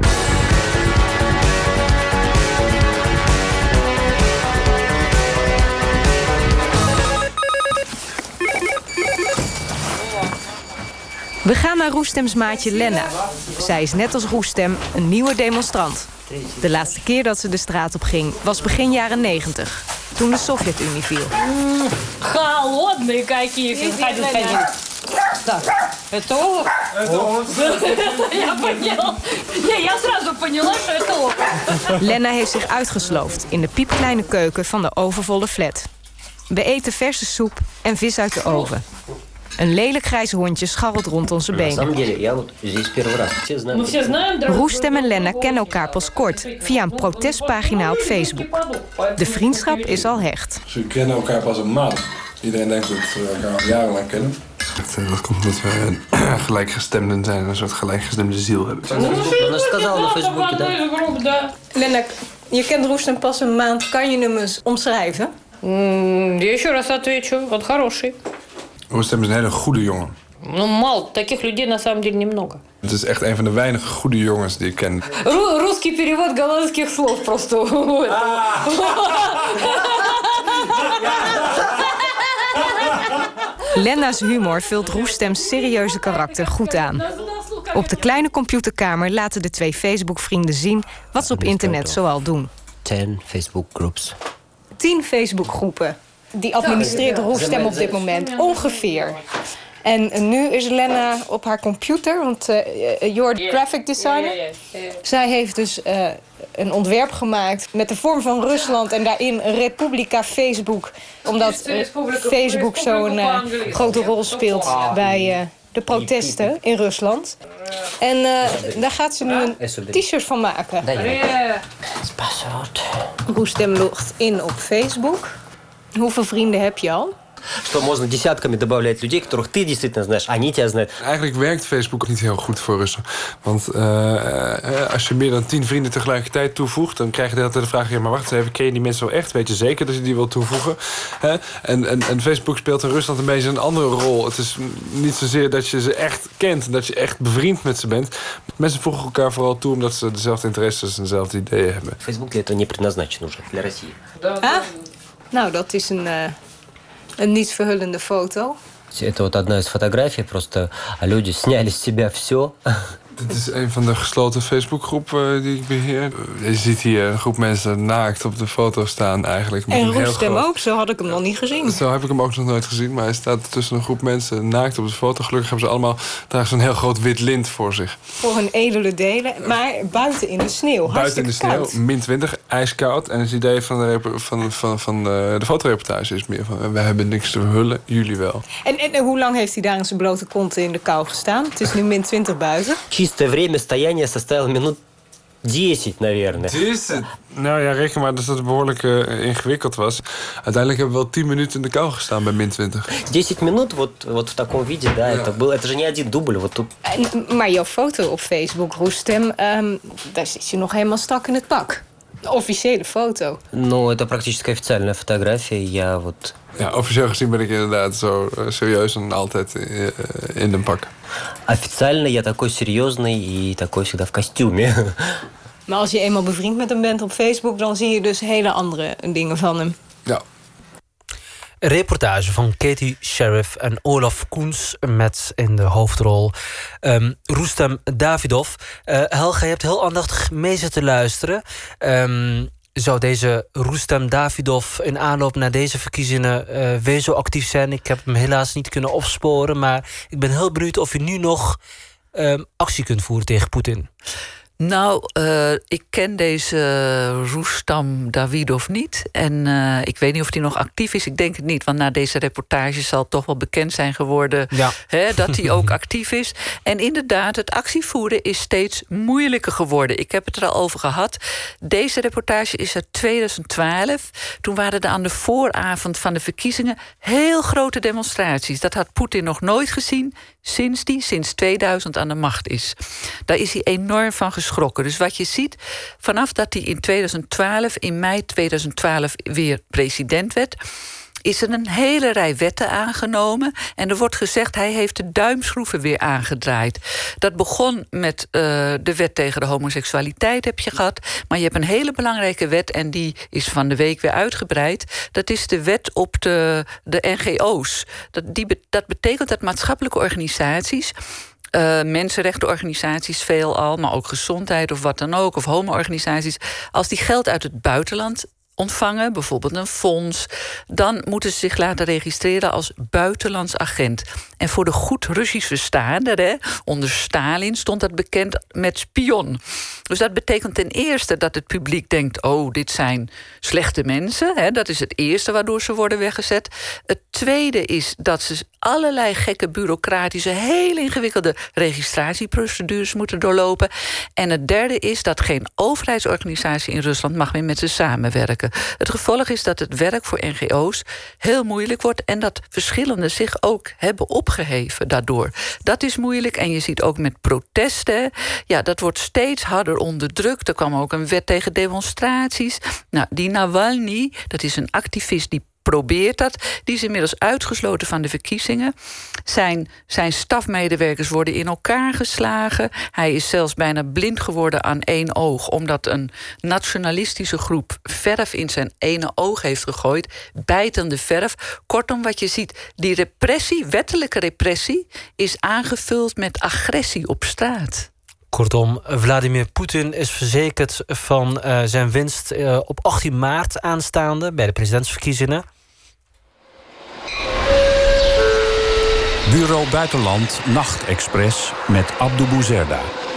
We gaan naar Roestems maatje Lena. Zij is net als Roestem een nieuwe demonstrant. De laatste keer dat ze de straat op ging was begin jaren negentig. Toen de Sovjet-Unie viel. Холодные какие. Ходи, ходи. Так, это олух? Это олух. Я поняла. Я сразу поняла, что это олух. Lena heeft zich uitgesloofd in de piepkleine keuken van de overvolle flat. We eten verse soep en vis uit de oven. Een lelijk grijs hondje scharrelt rond onze benen. Roestem en Lena kennen elkaar pas kort via een protestpagina op Facebook. De vriendschap is al hecht. Ze kennen elkaar pas een maand. Iedereen denkt dat we elkaar al jarenlang kennen. Dat, dat komt omdat we gelijkgestemden zijn en een soort gelijkgestemde ziel hebben. Lena, je kent Roestem pas een maand. Kan je hem eens omschrijven? Я еще раз отвечу. Вот хороший. Roestem is een hele goede jongen. Ну, мало. Таких людей на самом деле немного. Het is echt een van de weinige goede jongens die ik ken. Русский перевод голландских слов просто. Lena's humor vult Roestem's serieuze karakter goed aan. Op de kleine computerkamer laten de twee Facebook-vrienden zien wat ze op internet zoal doen. Ten Facebook groups. Tien Facebookgroepen. die administreert Roestem op dit moment, ongeveer. En nu is Lena op haar computer, want uh, Jord, graphic designer. Zij heeft dus uh, een ontwerp gemaakt met de vorm van Rusland en daarin Republika Facebook. Omdat uh, Facebook zo'n uh, grote rol speelt bij uh, de protesten in Rusland. En uh, daar gaat ze nu een t-shirt van maken. Roestem logt in op Facebook. Hoeveel vrienden heb je al? Что можно десятками добавлять людей, которых ты действительно знаешь, они тебя знают. Eigenlijk werkt Facebook niet heel goed voor Russen. Want uh, als je meer dan tien vrienden tegelijkertijd toevoegt, dan krijg je de hele tijd de vraag: ja, maar wacht eens even, ken je die mensen wel echt? Weet je zeker dat je die wil toevoegen? Hè? En, en, en Facebook speelt in Rusland een beetje een andere rol. Het is niet zozeer dat je ze echt kent, dat je echt bevriend met ze bent. Mensen voegen elkaar vooral toe omdat ze dezelfde interesses en dezelfde ideeën hebben. Facebook для этого не предназначен уже для России. Ah? Nou, dat is een uh... een niet verhullende foto. Это вот одна из фотографий, просто люди сняли с себя все. Dit is een van de gesloten Facebookgroepen die ik beheer. Je ziet hier een groep mensen naakt op de foto staan eigenlijk. En Roestem ook, zo had ik hem nog niet gezien. Zo heb ik hem ook nog nooit gezien, maar hij staat tussen een groep mensen naakt op de foto. Gelukkig hebben ze allemaal dragen ze een heel groot wit lint voor zich. Voor hun edele delen, maar buiten in de sneeuw. Buiten in de sneeuw, koud. min twintig, ijskoud. En het idee van de, van, van, van de, de fotoreportage is meer van: we hebben niks te verhullen, jullie wel. En, en, en hoe lang heeft hij daar in zijn blote kont in de kou gestaan? Het is nu min twintig buiten. Чистое время стояния составило минут десять, наверное. dесять? Nou ja, reken maar dat het behoorlijk uh, ingewikkeld was. Uiteindelijk hebben we wel tien minuten in de kou gestaan bij min twintig. десять минут, вот, вот в таком виде, да, ja. это, был, это же не один дубль. Вот тут. En, maar jouw foto op Facebook, Roestem, um, daar zit je nog helemaal strak in het pak. De officiële foto. Ну, это практически официальная фотография. Я вот... Ja, officieel gezien ben ik inderdaad zo uh, serieus en altijd uh, in een pak. Официально я такой серьезный и такой всегда в костюме. Maar als je eenmaal bevriend met hem bent op Facebook, dan zie je dus hele andere dingen van hem. Ja. Een reportage van Katie Sheriff en Olaf Koens met in de hoofdrol um, Roestem Davidov. Uh, Helga, je hebt heel aandachtig mee zitten luisteren. Um, Zou deze Roestem Davidov in aanloop naar deze verkiezingen uh, weer zo actief zijn? Ik heb hem helaas niet kunnen opsporen, maar ik ben heel benieuwd of je nu nog uh, actie kunt voeren tegen Poetin. Nou, uh, ik ken deze uh, Roestem Davidov niet. En uh, ik weet niet of hij nog actief is. Ik denk het niet, want na deze reportage zal het toch wel bekend zijn geworden... Ja. Hè, dat hij ook actief is. En inderdaad, het actievoeren is steeds moeilijker geworden. Ik heb het er al over gehad. Deze reportage is uit tweeduizend twaalf. Toen waren er aan de vooravond van de verkiezingen heel grote demonstraties. Dat had Poetin nog nooit gezien sinds hij sinds tweeduizend aan de macht is. Daar is hij enorm van geschrokken. Dus wat je ziet, vanaf dat hij in tweeduizend twaalf, in mei tweeduizend twaalf weer president werd, is er een hele rij wetten aangenomen. En er wordt gezegd, hij heeft de duimschroeven weer aangedraaid. Dat begon met uh, de wet tegen de homoseksualiteit, heb je gehad. Maar je hebt een hele belangrijke wet, en die is van de week weer uitgebreid. Dat is de wet op de, de N G O's. Dat, die, dat betekent dat maatschappelijke organisaties, Uh, mensenrechtenorganisaties veelal, maar ook gezondheid of wat dan ook, of homo-organisaties, als die geld uit het buitenland ontvangen, bijvoorbeeld een fonds, dan moeten ze zich laten registreren als buitenlands agent. En voor de goed Russisch verstaander, hè, onder Stalin stond dat bekend met spion. Dus dat betekent ten eerste dat het publiek denkt, oh, dit zijn slechte mensen. Hè, dat is het eerste waardoor ze worden weggezet. Het tweede is dat ze allerlei gekke bureaucratische, heel ingewikkelde registratieprocedures moeten doorlopen. En het derde is dat geen overheidsorganisatie in Rusland mag meer met ze samenwerken. Het gevolg is dat het werk voor N G O's heel moeilijk wordt en dat verschillende zich ook hebben opgeheven daardoor. Dat is moeilijk en je ziet ook met protesten, ja, dat wordt steeds harder onderdrukt. Er kwam ook een wet tegen demonstraties. Nou, die Navalny, dat is een activist die probeert dat. Die is inmiddels uitgesloten van de verkiezingen. Zijn, zijn stafmedewerkers worden in elkaar geslagen. Hij is zelfs bijna blind geworden aan één oog, omdat een nationalistische groep verf in zijn ene oog heeft gegooid. Bijtende verf. Kortom, wat je ziet, die repressie, wettelijke repressie, is aangevuld met agressie op straat. Kortom, Vladimir Poetin is verzekerd van uh, zijn winst uh, op achttien maart aanstaande bij de presidentsverkiezingen. Bureau Buitenland Nachtexpress met Abdou Bouzerda.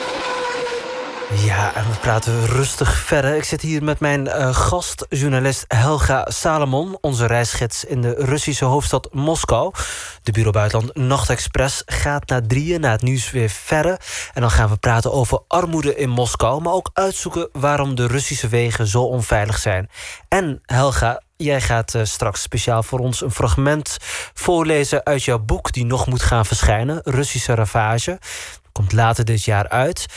Ja, en we praten rustig verder. Ik zit hier met mijn uh, gast, journalist Helga Salomon, onze reisgids in de Russische hoofdstad Moskou. De Bureau Buitenland Nachtexpress gaat na drieën, na het nieuws weer verder. En dan gaan we praten over armoede in Moskou, maar ook uitzoeken waarom de Russische wegen zo onveilig zijn. En Helga, jij gaat uh, straks speciaal voor ons een fragment voorlezen uit jouw boek die nog moet gaan verschijnen, Russische Ravage. Komt later dit jaar uit.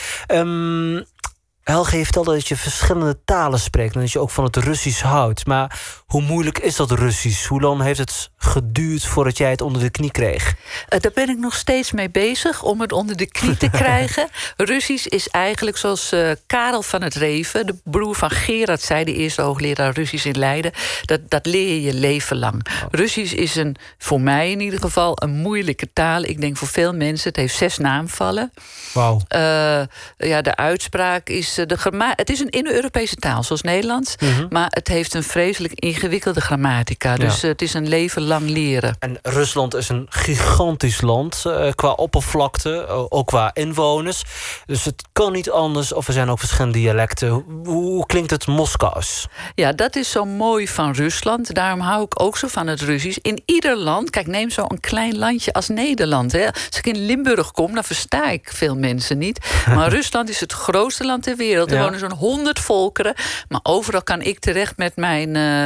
Um, Helge, je vertelde dat je verschillende talen spreekt en dat je ook van het Russisch houdt. Maar hoe moeilijk is dat Russisch? Hoe lang heeft het geduurd voordat jij het onder de knie kreeg? Uh, daar ben ik nog steeds mee bezig om het onder de knie te krijgen. Russisch is eigenlijk zoals uh, Karel van het Reven, de broer van Gerard, zei, de eerste hoogleraar Russisch in Leiden. Dat, dat leer je je leven lang. Oh. Russisch is een, voor mij in ieder geval, een moeilijke taal. Ik denk voor veel mensen. Het heeft zes naamvallen. Wauw. Uh, ja, de uitspraak is de gramma- het is een Indo-Europese taal, zoals Nederlands. Mm-hmm. Maar het heeft een vreselijk ingewikkelde grammatica. Dus ja. Het is een leven lang leren. En Rusland is een gigantisch land uh, qua oppervlakte, uh, ook qua inwoners. Dus het kan niet anders, of er zijn ook verschillende dialecten. Hoe, hoe klinkt het Moskous? Ja, dat is zo mooi van Rusland. Daarom hou ik ook zo van het Russisch. In ieder land, kijk, neem zo een klein landje als Nederland. Hè. Als ik in Limburg kom, dan versta ik veel mensen niet. Maar Rusland is het grootste land ter wereld. Er ja. wonen zo'n honderd volkeren. Maar overal kan ik terecht met mijn uh,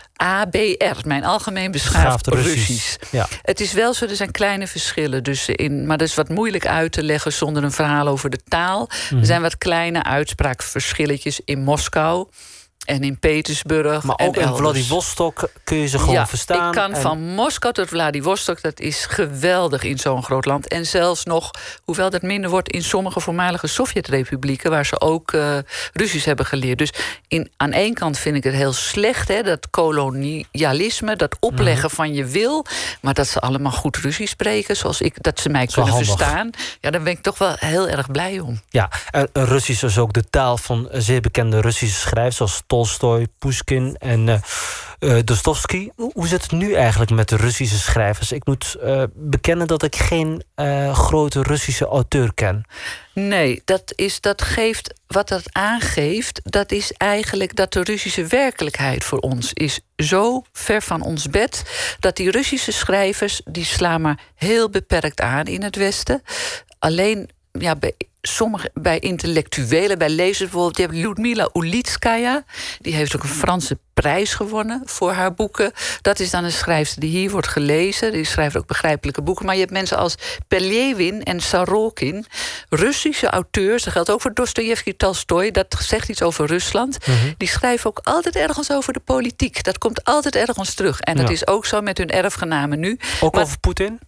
A B R, mijn algemeen beschaafd Russisch. Russisch. Ja. Het is wel zo, er zijn kleine verschillen. Dus in, maar dat is wat moeilijk uit te leggen zonder een verhaal over de taal. Mm. Er zijn wat kleine uitspraakverschilletjes in Moskou en in Petersburg. Maar ook en in elders. Vladivostok kun je ze gewoon ja, verstaan. Ik kan en... van Moskou tot Vladivostok, dat is geweldig in zo'n groot land. En zelfs nog, hoewel dat minder wordt in sommige voormalige Sovjet-republieken, waar ze ook uh, Russisch hebben geleerd. Dus in, aan één kant vind ik het heel slecht, hè, dat kolonialisme, dat opleggen van je wil. Maar dat ze allemaal goed Russisch spreken, zoals ik, dat ze mij kunnen handig. verstaan. Ja, daar ben ik toch wel heel erg blij om. Ja, en Russisch is ook de taal van zeer bekende Russische schrijvers, zoals Tolstoj, Pushkin en uh, uh, Dostoevsky. Hoe zit het nu eigenlijk met de Russische schrijvers? Ik moet uh, bekennen dat ik geen uh, grote Russische auteur ken. Nee, dat, is, dat geeft, wat dat aangeeft, dat is eigenlijk dat de Russische werkelijkheid voor ons is zo ver van ons bed, dat die Russische schrijvers, die slaan maar heel beperkt aan in het Westen. Alleen, ja, bij sommige, bij intellectuelen, bij lezers bijvoorbeeld, je hebt Ludmila Ulitskaya, die heeft ook een Franse prijs gewonnen voor haar boeken. Dat is dan een schrijfster die hier wordt gelezen. Die schrijft ook begrijpelijke boeken. Maar je hebt mensen als Peljevin en Sorokin, Russische auteurs, dat geldt ook voor Dostojevski, Tolstoj, dat zegt iets over Rusland. Mm-hmm. Die schrijven ook altijd ergens over de politiek. Dat komt altijd ergens terug. En dat ja. is ook zo met hun erfgenamen nu. Ook maar, over Poetin?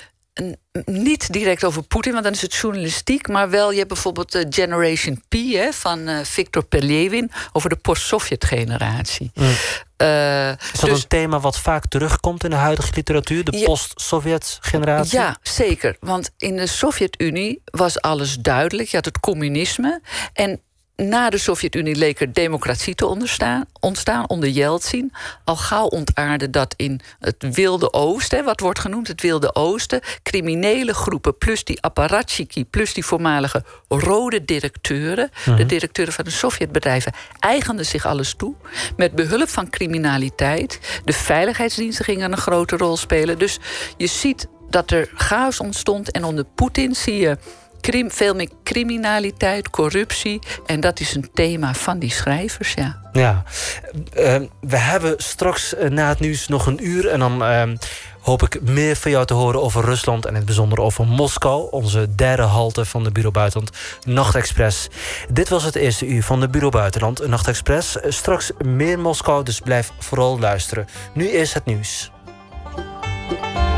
Niet direct over Poetin, want dan is het journalistiek. Maar wel, je hebt bijvoorbeeld de Generation P hè, van uh, Victor Peljevin over de post-Sovjet-generatie. Mm. Uh, is dat dus een thema wat vaak terugkomt in de huidige literatuur? De ja, post-Sovjet-generatie? Ja, zeker. Want in de Sovjet-Unie was alles duidelijk. Je had het communisme. En na de Sovjet-Unie leek er democratie te ontstaan, ontstaan onder Jeltsin. Al gauw ontaarde dat in het Wilde Oosten, wat wordt genoemd het Wilde Oosten, criminele groepen plus die apparatchiki, plus die voormalige rode directeuren, mm-hmm. de directeuren van de Sovjetbedrijven, eigenden zich alles toe. Met behulp van criminaliteit. De veiligheidsdiensten gingen een grote rol spelen. Dus je ziet dat er chaos ontstond en onder Poetin zie je Krim, veel meer criminaliteit, corruptie. En dat is een thema van die schrijvers, ja. Ja, uh, we hebben straks uh, na het nieuws nog een uur. En dan uh, hoop ik meer van jou te horen over Rusland. En in het bijzonder over Moskou. Onze derde halte van de Bureau Buitenland Nachtexpress. Dit was het eerste uur van de Bureau Buitenland Nachtexpress. Uh, straks meer Moskou, dus blijf vooral luisteren. Nu eerst het nieuws.